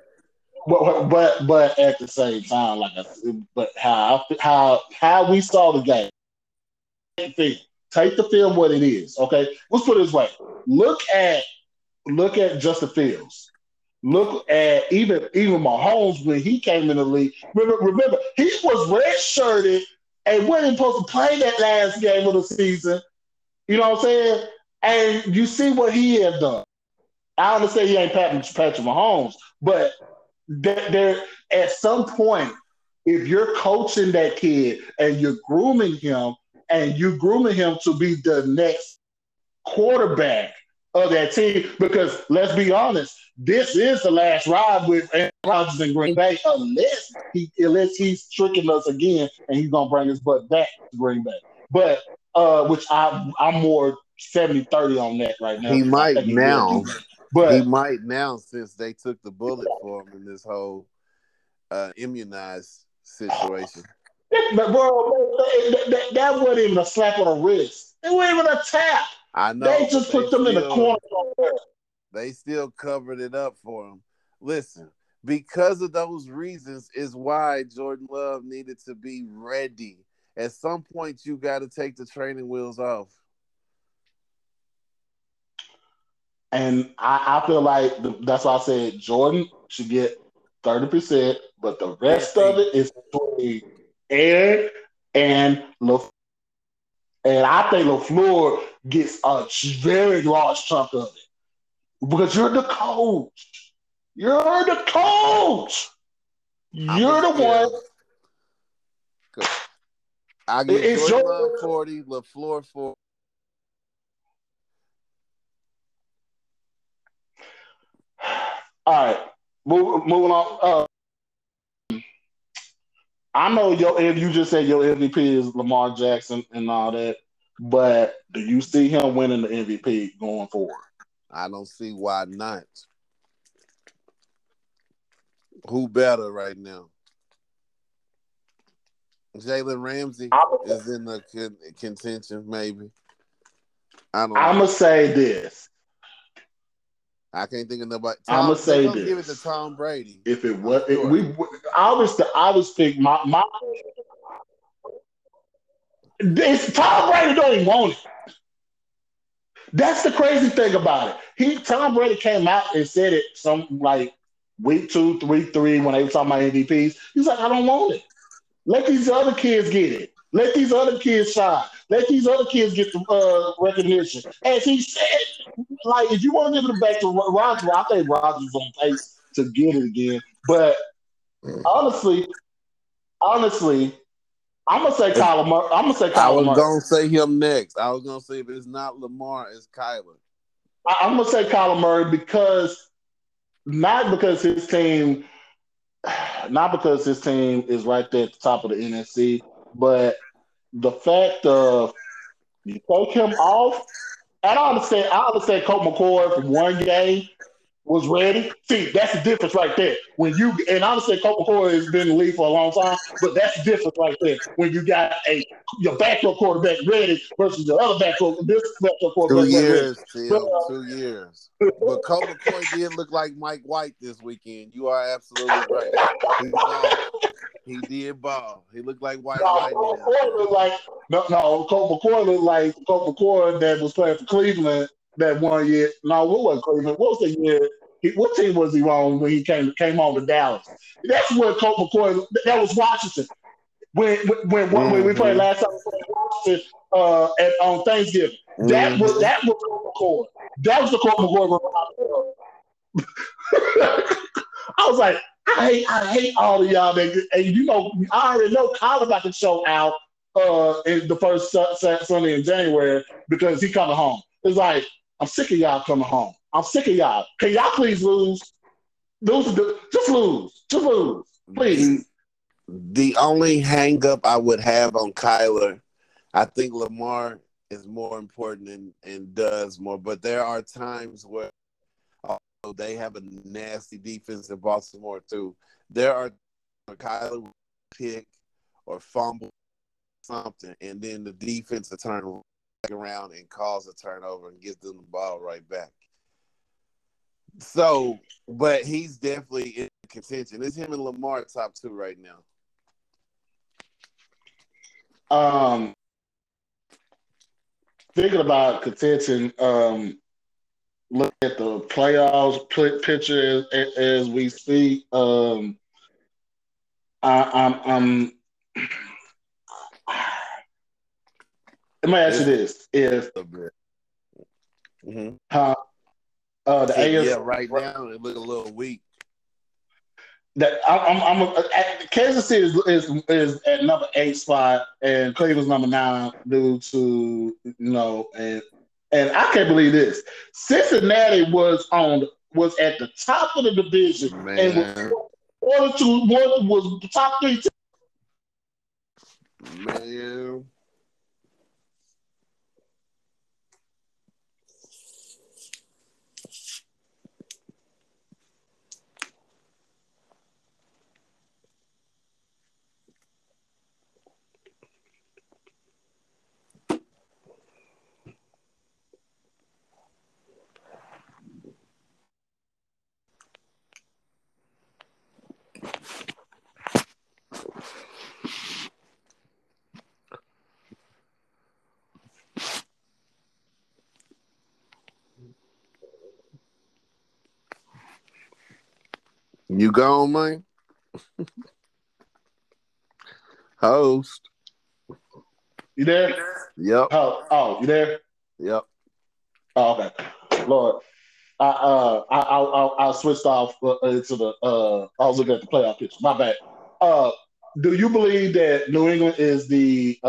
But at the same time, like I said, but how we saw the game. Take the film what it is. Okay, let's put it this way. Look at Justin Fields. Look at even Mahomes when he came in the league. Remember he was redshirted and wasn't supposed to play that last game of the season. You know what I'm saying? And you see what he has done. I understand he ain't Patrick Mahomes, but there at some point if you're coaching that kid and you're grooming him to be the next quarterback of that team, because let's be honest, this is the last ride with Aaron Rodgers in Green Bay, unless he's tricking us again and he's gonna bring his butt back to Green Bay. But which I'm more 70-30 on that right now. He I might think he will now. do that. But He might now, since they took the bullet for him in this whole immunized situation. but bro, that wasn't even a slap on the wrist. It wasn't even a tap. I know, They just put them in the corner. They still covered it up for him. Listen, because of those reasons is why Jordan Love needed to be ready. At some point, you got to take the training wheels off. And I feel like that's why I said Jordan should get 30%, but the rest of it is between Aaron and LaFleur. And I think LaFleur gets a very large chunk of it. Because you're the coach. You're the coach. You're the one. I give Jordan Love 40, LaFleur 40. All right, moving on. I know if you just said your MVP is Lamar Jackson and all that, but do you see him winning the MVP going forward? I don't see why not. Who better right now? Jalen Ramsey is in the contention, maybe. I'm gonna say this. I can't think of nobody. I'm gonna say this. Give it to Tom Brady. If it was, I was pick my. Tom Brady don't even want it. That's the crazy thing about it. Tom Brady came out and said it some like week 2, 3 when they were talking about MVPs. He's like, I don't want it. Let these other kids get it. Let these other kids shine. Let these other kids get the recognition. As he said, like, if you want to give it back to Rodgers, I think Rodgers is on pace to get it again. But honestly, I'm gonna say Kyler Murray. I'm gonna say Kyler Murray. I was gonna say him next. I was gonna say if it's not Lamar, it's Kyler. I'm gonna say Kyler Murray not because his team is right there at the top of the NFC, but the fact of you take him off. And I understand Colt McCoy from one game was ready. See, that's the difference right there. And I understand Colt McCoy has been in the league for a long time, but that's the difference right there. When you got your backup quarterback ready versus the other backup quarterback 2 years, Tim, 2 years. But Colt McCoy did look like Mike White this weekend. You are absolutely right. He did ball. He looked like White. Colt McCoy looked like Colt McCoy that was playing for Cleveland that one year. No, what was Cleveland? What was the year? What team was he on when he came on to Dallas? That's what Colt McCoy. That was Washington. When we played last time Washington on Thanksgiving. That was Colt McCoy. That was the Colt McCoy. I was like, I hate all of y'all. And I already know Kyler about to show out in the first Sunday in January because he coming home. It's like, I'm sick of y'all coming home. I'm sick of y'all. Can y'all please lose? Just lose. Just lose. Please. The only hang up I would have on Kyler, I think Lamar is more important and does more, but there are times where they have a nasty defense in Baltimore too. There are Kyler will pick or fumble something, and then the defense will turn back around and cause a turnover and gives them the ball right back. So, but he's definitely in contention. It's him and Lamar top 2 right now. Thinking about contention, look at the playoffs picture as we speak. I'm let me ask you this: if the AFC, right now it look a little weak. Kansas City is at number 8 spot, and Cleveland's number 9 due to and I can't believe this. Cincinnati was at the top of the division and was Man, one was the top 3. man. You gone, man? Host. You there? Yep. You there? Yep. Oh, okay. Lord, I switched off to the. I was looking at the playoff picture. My bad. Uh, do you believe that New England is the?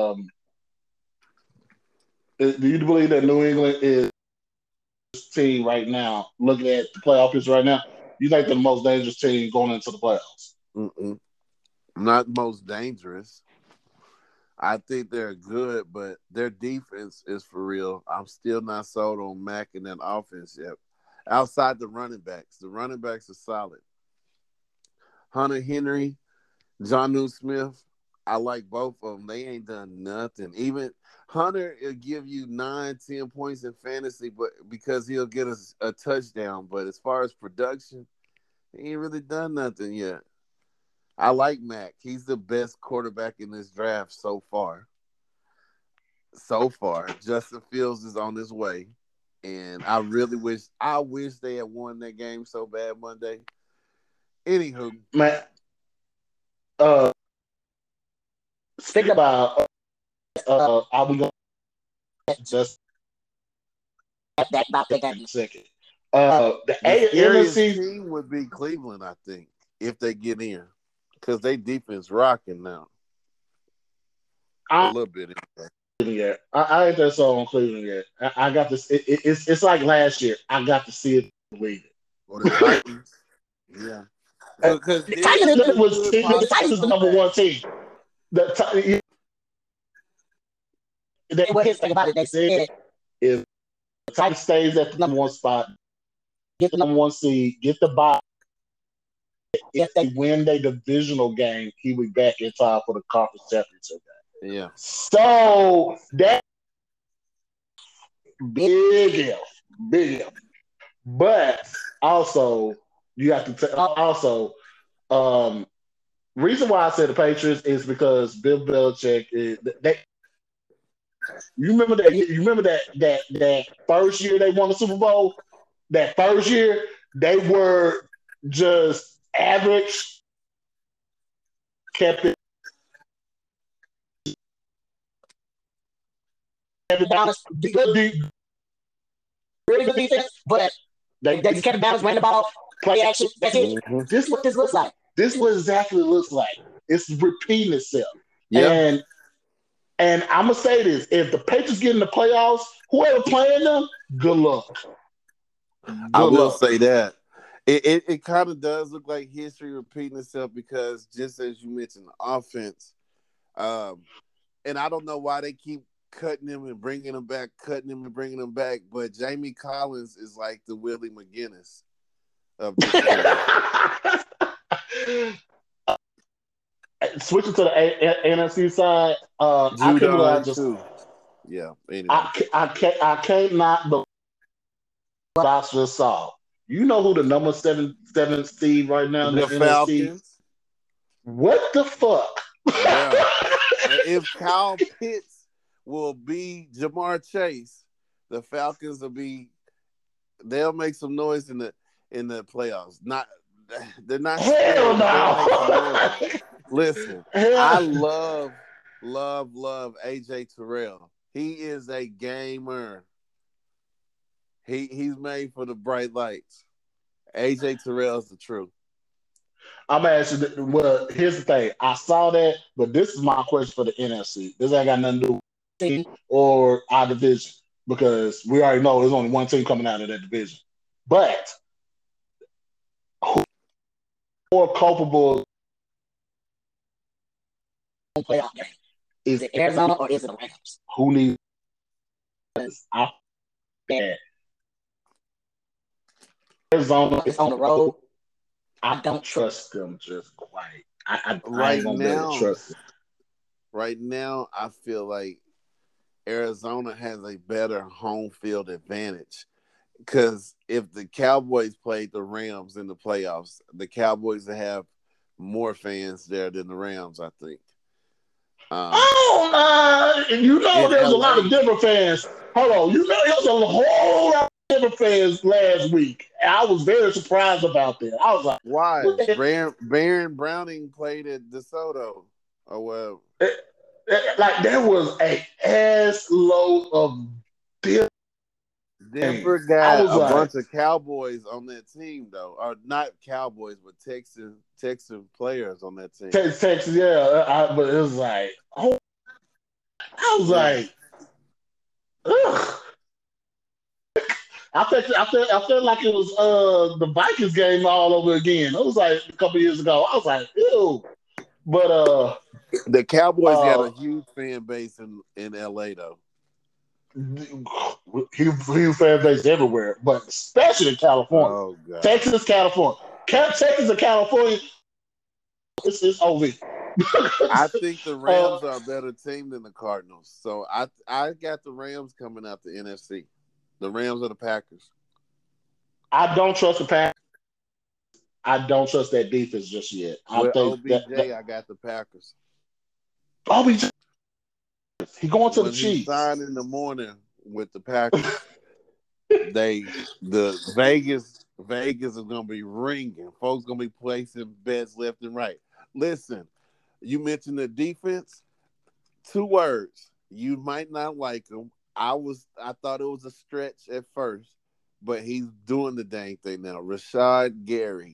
Do you believe that New England is team right now? Looking at the playoff picture right now, you think they're the most dangerous team going into the playoffs? Mm-mm. Not most dangerous. I think they're good, but their defense is for real. I'm still not sold on Mac and that offense yet. Outside the running backs are solid. Hunter Henry, John Smith, I like both of them. They ain't done nothing. Even Hunter will give you 9, 10 points in fantasy, but because he'll get a touchdown. But as far as production, he ain't really done nothing yet. I like Mac. He's the best quarterback in this draft so far. So far, Justin Fields is on his way, and I wish they had won that game so bad Monday. Anywho, Man, uh, think about are we going to just that about that game in a second? The the scariest NFC. team would be Cleveland, I think, if they get in, because they defense rocking now a I little bit. Anyway. yet. I ain't that sold on Cleveland yet. I got this. It's like last year. I got to see it, believe Or the it. Titans, yeah, because The there's a good The Titans possible is the number comeback. one team. What his thing about it, they said if the Titans stays at the number one spot, get the number one seed, get the bye. If they win their divisional game, he will be back in time for the conference championship game. Yeah, So that big big if. But also, you have to also reason why I said the Patriots is because Bill Belichick is they. You remember that? You remember that first year they won the Super Bowl. That first year they were just average, kept it balanced, really good defense, but they just kept it balanced, ran the ball, play action. That's it. mm-hmm. This is what this looks like. This is what exactly it looks like. It's repeating itself. Yeah. And I'm gonna say this: if the Patriots get in the playoffs, whoever playing them, good luck. I Good will luck. say that it kind of does look like history repeating itself because just as you mentioned, the offense, um, and I don't know why they keep cutting him and bringing him back, cutting him and bringing him back, but Jamie Collins is like the Willie McGinnis of this team. Switching to the NFC side, I can't believe I Judon just too. Yeah. Anyway, I can't not believe what I just saw. You know who the number seven seed right now in the the NFC? Falcons. What the fuck? Yeah. If Kyle Pitts will be Jamar Chase, the Falcons will be. They'll make some noise in the playoffs. Not they're not Hell scary, but they'll make some no. noise. Listen, I Hell. love AJ Terrell. He is a gamer. He's made for the bright lights. AJ Terrell's the truth. I'm asking. Well, here's the thing. I saw that, but this is my question for the NFC. This ain't got nothing to do with team or our division because we already know there's only one team coming out of that division. But who more culpable playoff game? Is it Arizona or is it the Rams? Who needs? I Arizona is on the road. I don't trust them just quite. I ain't gonna be able to trust them. Right now, I feel like Arizona has a better home field advantage because if the Cowboys played the Rams in the playoffs, the Cowboys have more fans there than the Rams, I think. You know, there's a lot LA, of Denver fans. Hold on, you know, there's a whole lot of Denver fans last week. I was very surprised about that. I was like, why? Baron Browning played at DeSoto or whatever. Like there was a ass load of Denver got a bunch of Cowboys on that team, though, or not Cowboys, but Texan players on that team. Texas, yeah, but it was like, oh, I was like, ugh. I felt like it was the Vikings game all over again. It was like a couple years ago. I was like, ew. But the Cowboys got a huge fan base in LA though. Huge fan base everywhere, but especially in California. Oh, God. Texas, California. Texas and California, it's OV. I think the Rams are a better team than the Cardinals. So I got the Rams coming out the NFC. The Rams or the Packers. I don't trust the Packers. I don't trust that defense just yet. With OBJ, I got the Packers. OBJ, he going to when the Chiefs. He signed in the morning with the Packers. the Vegas is gonna be ringing. Folks gonna be placing bets left and right. Listen, you mentioned the defense. 2 words. You might not like them. I thought it was a stretch at first, but he's doing the dang thing now. Rashad Gary.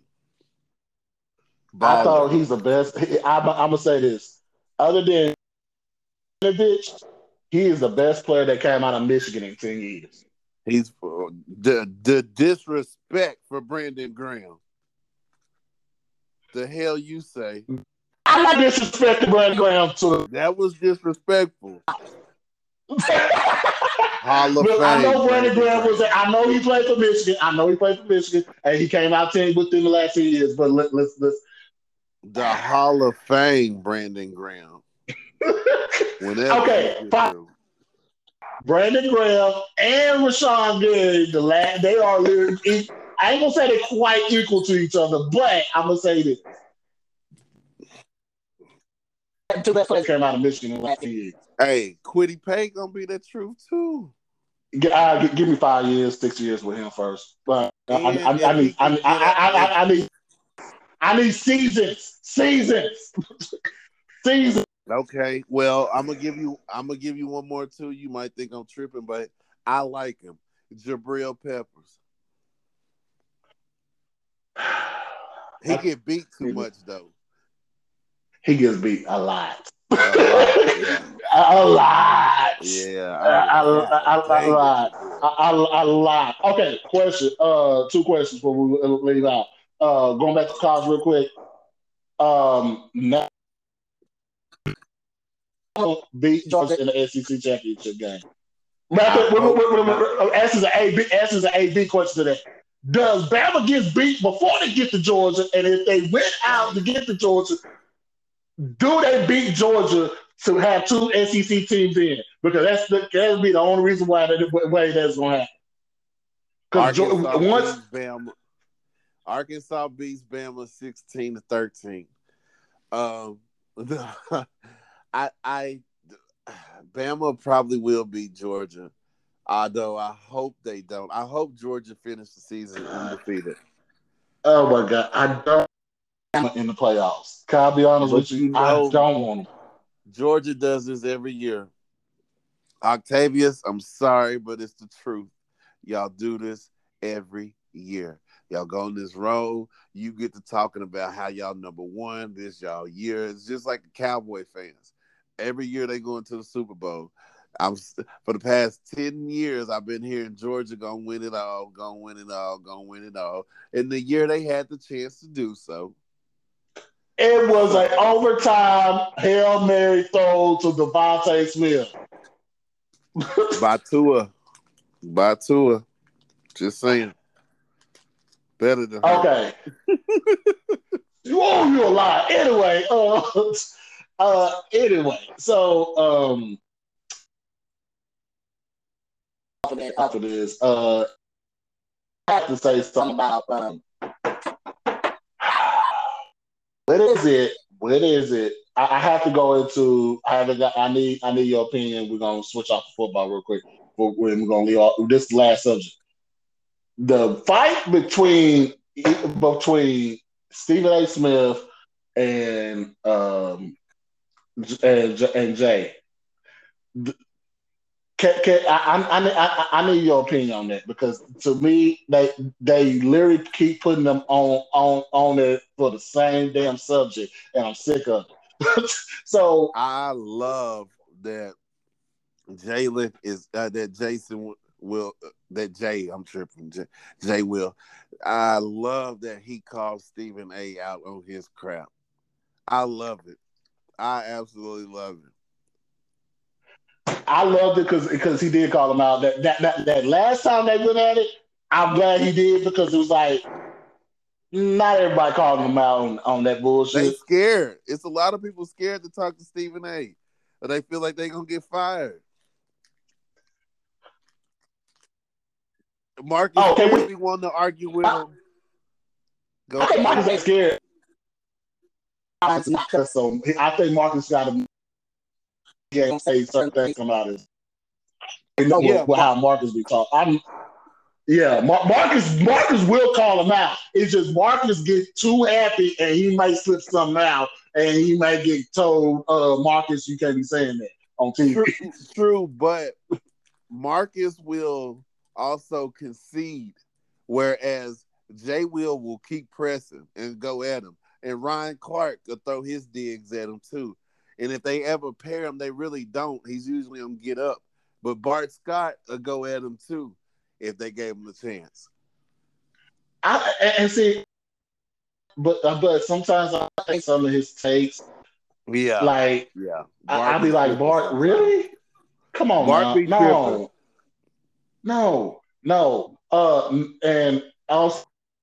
I thought he's the best. I'm gonna say this. Other than Winovich, he is the best player that came out of Michigan in 10 years. He's the disrespect for Brandon Graham. The hell you say? I'm not disrespecting Brandon Graham too. That was disrespectful. Hall of Fame. I know Brandon Graham was. I know he played for Michigan. And he came out 10 within the last 10 years. But let's. The Hall of Fame, Brandon Graham. Okay, fine. Brandon Graham and Rashawn Gary, they are literally. I ain't gonna say they're quite equal to each other, but I'm gonna say this. 2 best players came out of Michigan in the last 10 years. Hey, Kwity Paye gonna be the truth too. Give me 5 years, 6 years with him first. But I need seasons. Okay, well, I'm gonna give you one more too. You might think I'm tripping, but I like him. Jabril Peppers. He get beat too much though. He gets beat a lot. Yeah. A lot. Yeah. A lot. Okay, question. 2 questions before we leave out. Going back to college real quick. Now beat Georgia in the SEC championship game. Answers an A/B question to that. Does Bama get beat before they get to Georgia? And if they went out to get to Georgia, do they beat Georgia to have 2 SEC teams in? Because that'll be the only reason why that's going to happen. Arkansas beats Bama 16-13. Bama probably will beat Georgia, although I hope they don't. I hope Georgia finishes the season undefeated. Oh my God, I don't want in the playoffs. Can I be honest with you? I don't want them. Georgia does this every year. Octavius, I'm sorry, but it's the truth. Y'all do this every year. Y'all go on this road. You get to talking about how y'all number one. This y'all year. It's just like the Cowboy fans. Every year they go into the Super Bowl. For the past 10 years, I've been hearing Georgia gonna win it all, gonna win it all, gonna win it all. And the year they had the chance to do so, It was an overtime Hail Mary throw to Devontae Smith. by Tua, by Tua. Just saying, better than her. Okay. Oh, you a lie. Anyway, so after this, I have to say something about what is it? What is it? I have to go into. I need your opinion. We're gonna switch off the football real quick. We're gonna leave off this last subject. The fight between Stephen A. Smith and and Jay. I need your opinion on that because to me they literally keep putting them on it for the same damn subject and I'm sick of it. So I love that Jalen is that Jason will that Jay. I'm tripping. Jay will. I love that he called Stephen A. out on his crap. I love it. I absolutely love it. I loved it because he did call him out. That last time they went at it, I'm glad he did because it was like not everybody calling him out on that They bullshit. scared. It's a lot of people scared to talk to Stephen A. Or they feel like they're gonna get fired. Marcus Oh, scared me wanting to argue with him. Go I think ahead. Marcus ain't scared. So I think Marcus got to say certain things come out as you know Yeah, how Marcus be talking. Marcus will call him out. It's just Marcus gets too happy and he might slip something out and he might get told, Marcus, you can't be saying that on TV. true, but Marcus will also concede, whereas Jay will keep pressing and go at him. And Ryan Clark will throw his digs at him too. And if they ever pair him, they really don't. He's usually on get up. But Bart Scott will go at him too if they gave him the chance. And see, but sometimes I think some of his takes, Yeah, like yeah. I Bart be be like, tripping Bart, sometimes. really? Come on Bart now, be tripping. no. And also,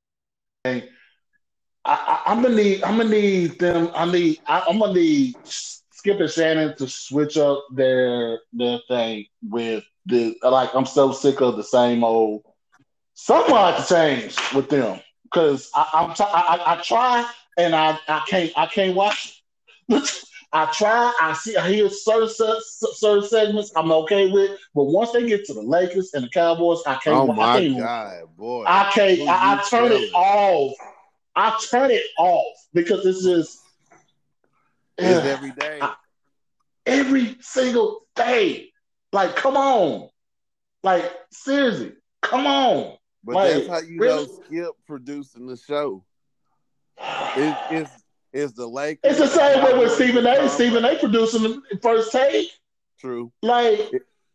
I'm gonna need them. I'm gonna need Skip and Shannon to switch up their thing with the like. I'm so sick of the same old. Something like to change with them because I try and I can't watch. I try. I hear certain segments I'm okay with, but once they get to the Lakers and the Cowboys, I can't. Oh I my can't. God, boy. I can't. Who you I turn it telling? off. I turn it off because it's just It's ugh, every day. every single day. Like, come on. Like, seriously, come on. But that's Like, how you know really? Skip producing the show. It's the It's Lakers, the the same way with Cowboys, Stephen and A. Tom Stephen A. Brady. producing the first take. True. Like,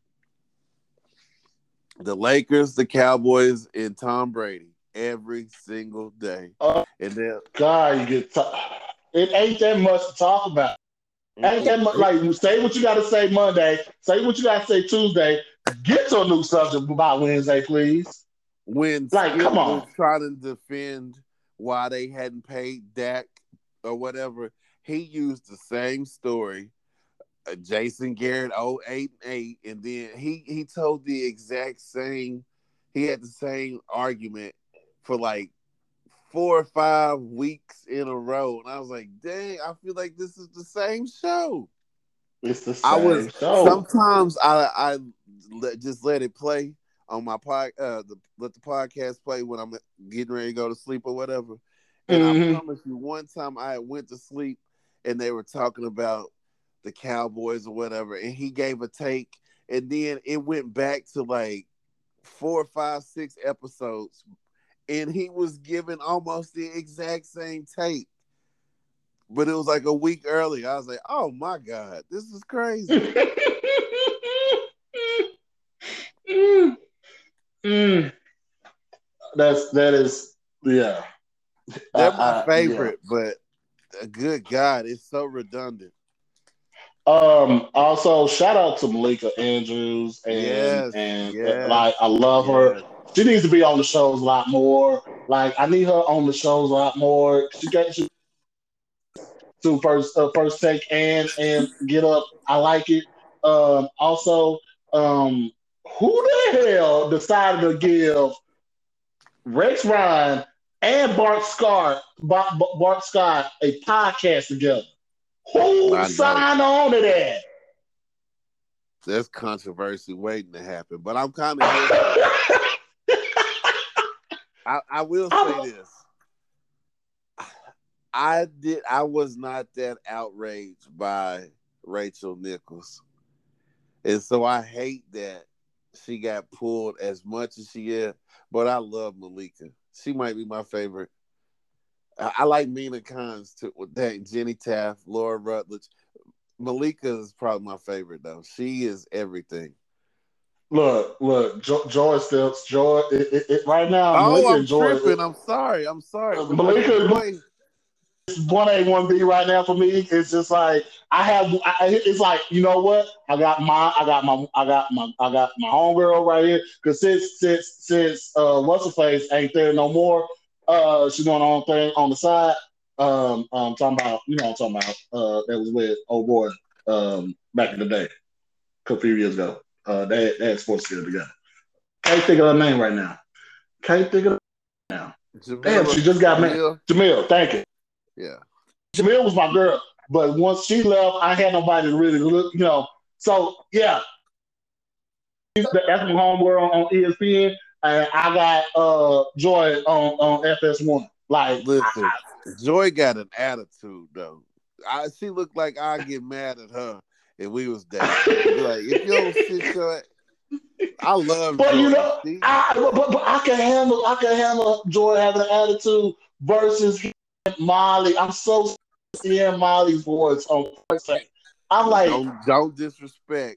The Lakers, the Cowboys, and Tom Brady every single day. oh And then God, it ain't that much to talk about. Ain't that much. Like, say what you got to say Monday. Say what you got to say Tuesday. Get to a new subject by Wednesday, please. when Like, Skip come was on. trying to defend why they hadn't paid Dak or whatever, he used the same story. Jason Garrett 08 and then he told the exact same. He had the same argument for like 4 or 5 weeks in a row, and I was like, "Dang, I feel like this is the same show." It's the I same was show. sometimes just let it play on my let the podcast play when I'm getting ready to go to sleep or whatever. And I Mm-hmm. promise you, one time I went to sleep and they were talking about the Cowboys or whatever, and he gave a take, and then it went back to like 4, 5, 6 episodes, and he was given almost the exact same take, but it was like a week early. I was like, oh my God, this is crazy. That is yeah. They're my Yeah. favorite, but good God, it's so redundant. Also, shout out to Malika Andrews Yes, and yes, like I love her. yes. She needs to be on the shows a lot more. Like I need her on the shows a lot more. She to first take and get up. I like it. Also, um, who the hell decided to give Rex Ryan and Bart Scott a podcast together? Who I know. signed on to that? There's controversy waiting to happen, but I'm kind of here for it. I will say this. I was not that outraged by Rachel Nichols. And so I hate that she got pulled as much as she is, but I love Malika. She might be my favorite. I like Mina Kimes too with that, Jenny Taft, Laura Rutledge. Malika is probably my favorite though. She is everything. Look, Joy still Joy. Right now, Oh, Malika I'm and Joy. tripping. I'm sorry. I'm sorry. But like Malika Joy, 1A 1B right now for me. It's just like I have. It's like you know what? I got my homegirl right here. Because since what's her face ain't there no more. She's doing her own thing on the side. Talking about you know what I'm talking about. That was with old boy. Back in the day, a few years ago. They had sports together together. Can't think of her name right now. Can't think of her now. Damn, Jamila, she just got married. Jamil, Jamil, thank you. yeah. Jamil was my girl, but once she left, I had nobody to really look, you know. So yeah, that's my homegirl on ESPN, and I got Joy on FS1. Like, Listen, Joy got an attitude though. She looked like I get mad at her if we was dating. Like if you don't sit your, I love but you Joy. know, but I can handle Joy having an attitude versus Molly. I'm so seeing Molly's voice on first take. I'm like, Don't disrespect.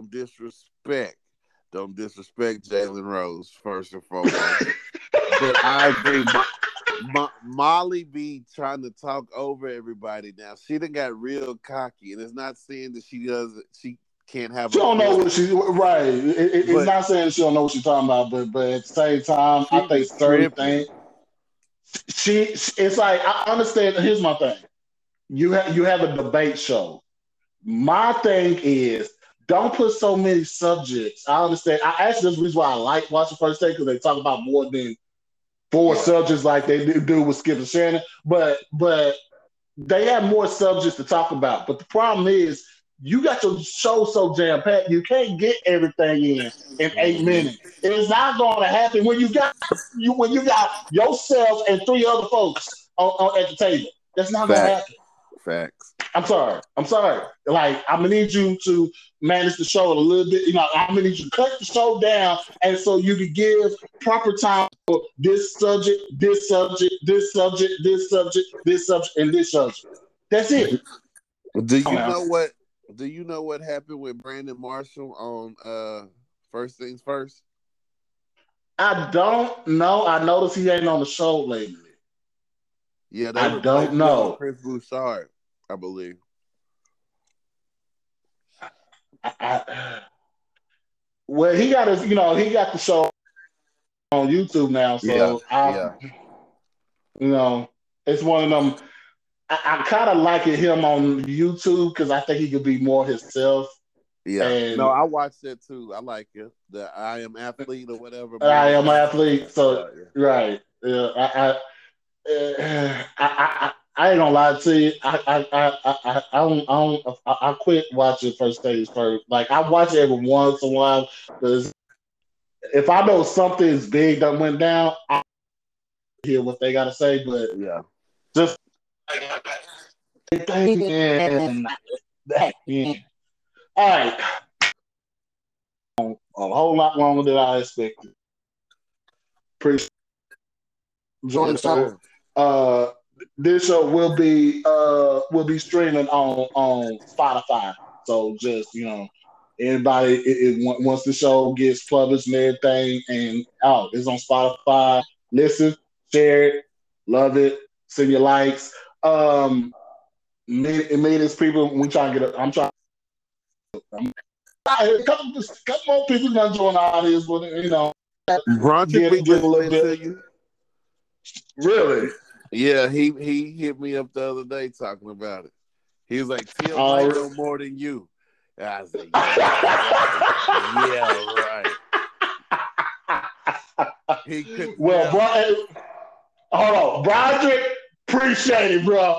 Don't disrespect Jalen Rose first and foremost. But I agree. Molly be trying to talk over everybody now. She done got real cocky, and it's not saying that she can't have she a don't know voice, what she right. It's but not saying she don't know what she's talking about, but at the same time, I she think be certain tripping. things. It's like I understand. Here's my thing. You have a debate show. My thing is don't put so many subjects. I understand. I actually this is the reason why I like watching First Take because they talk about more than four Yeah, subjects like they do with Skip and Shannon. But they have more subjects to talk about. But the problem is you got your show so jam packed, you can't get everything in 8 minutes. It's not going to happen when you got yourself and three other folks at the table. That's not going to facts, happen. facts. I'm sorry. I'm sorry. Like I'm gonna need you to manage the show a little bit. You know, I'm gonna need you to cut the show down, and so you can give proper time for this subject, this subject, this subject, this subject, this subject, and this subject. That's it. Do Come you on now. know what? Do you know what happened with Brandon Marshall on First Things First? I don't know. I noticed he ain't on the show lately. Yeah, they I don't replaced him with know. Chris Bouchard, I believe. I, well, he got his. You know, he got the show on YouTube now. Yeah, So I, yeah, you know, it's one of them. I kind of like it him on YouTube because I think he could be more himself. yeah. No, And I watched that too. I like it. The I Am Athlete or whatever I morning am an show. athlete, so Yeah, yeah. right. Yeah, I ain't gonna lie to you. I quit watching First Stage First. Like I watch it every once in a while because if I know something's big that went down, I hear what they gotta say. But Yeah. just and that, yeah. All right, a whole lot longer than I expected. Appreciate join the Yes, show. sir. This show will be streaming on Spotify. So just anybody once the show gets published and everything and out, it's on Spotify. Listen, share it, love it, send your likes. Me as people, we trying to get. I'm trying. A couple more people gonna join the audience, but Bronchick be get a little listening bit. to you. Really? Yeah, he hit me up the other day talking about it. He was like, Tim might Uh, know more than you. And I was like, yeah, right. Yeah, right. He could well, tell me. hold on, Broderick. Appreciate it, bro.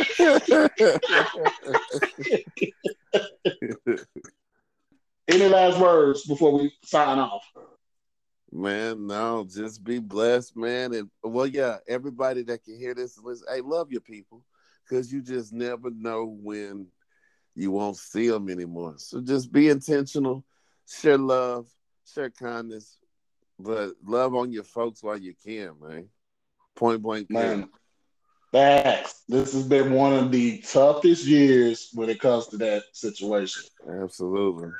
Any last words before we sign off? Man, no, just be blessed, man. And well, yeah, everybody that can hear this, listen, hey, love your people, because you just never know when you won't see them anymore. So just be intentional, share love, share kindness, but love on your folks while you can, man. Point blank, period. Man, facts. This has been one of the toughest years when it comes to that situation. Absolutely.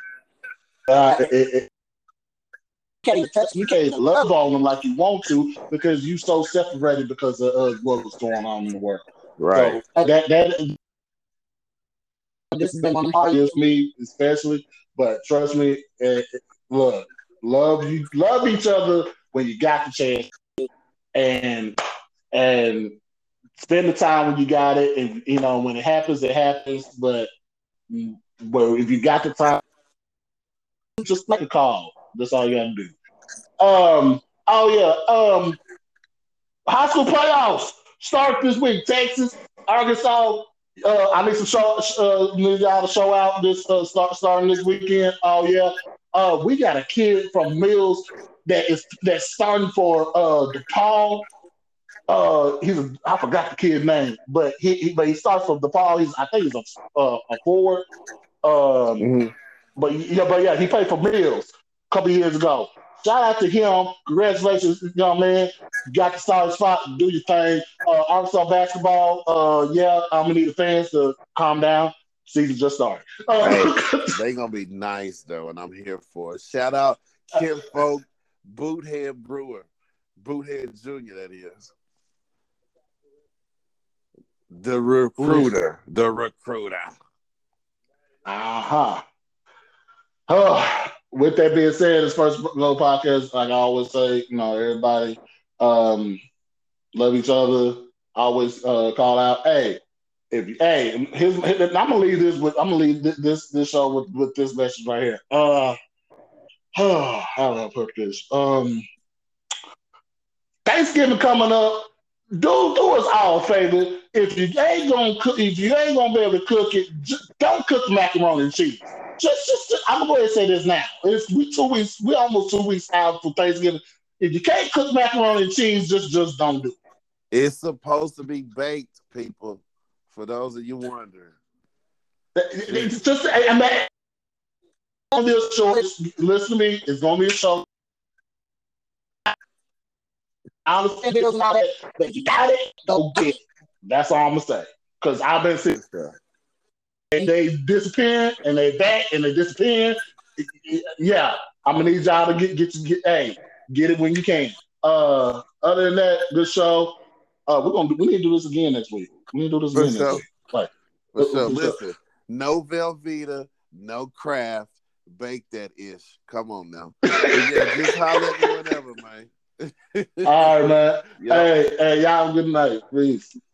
You can't even love on them like you want to because you so separated because of what was going on in the world. Right. So that this has been one of the hardest years for me, especially. But trust me, look, love each other when you got the chance, and and spend the time when you got it. And when it happens, it happens. But if you got the time, just make a call. That's all you got to do. Oh yeah. High school playoffs start this week. Texas, Arkansas. I need some need y'all to show out this starting this weekend. Oh yeah. We got a kid from Mills that's starting for DePaul. I forgot the kid's name, but he starts from DePaul. I think he's a forward. Um, Mm-hmm. but yeah, he played for Mills a couple years ago. Shout out to him. Congratulations, young man. You got the solid spot. Do your thing. Arkansas basketball. Yeah, I'm gonna need the fans to calm down. Season just started. Hey, they gonna be nice though, and I'm here for it. Shout out Kim Folk, Boothead Brewer, Boothead Jr. That is the recruiter. Uh-huh. With that being said, this first Glow podcast, like I always say, everybody love each other. Always call out. Hey, I'm gonna leave this show with this message right here. How do I put this? Thanksgiving coming up. Do us all a favor. If you ain't gonna be able to cook it, just don't cook macaroni and cheese. Just I'm gonna go ahead and say this now. We 2 weeks. We almost 2 weeks out for Thanksgiving. If you can't cook macaroni and cheese, just don't do it. It's supposed to be baked, people. For those of you wondering, It's just I mean, it's gonna be a show. Listen to me. It's gonna be a show. I understand it doesn't matter, but if you got it, go get it. That's all I'm gonna say. Because I've been seeing they disappear and they back and they disappear. Yeah, I'm gonna need y'all to get it when you can. Other than that, good show. We need to do this again next week. We need to do this again next week. Right. For sure. Listen, no Velveeta, no Kraft, bake that ish. Come on now. Yeah, just holler at me whenever, man. All right, man. Yep. Hey, y'all, good night. Peace.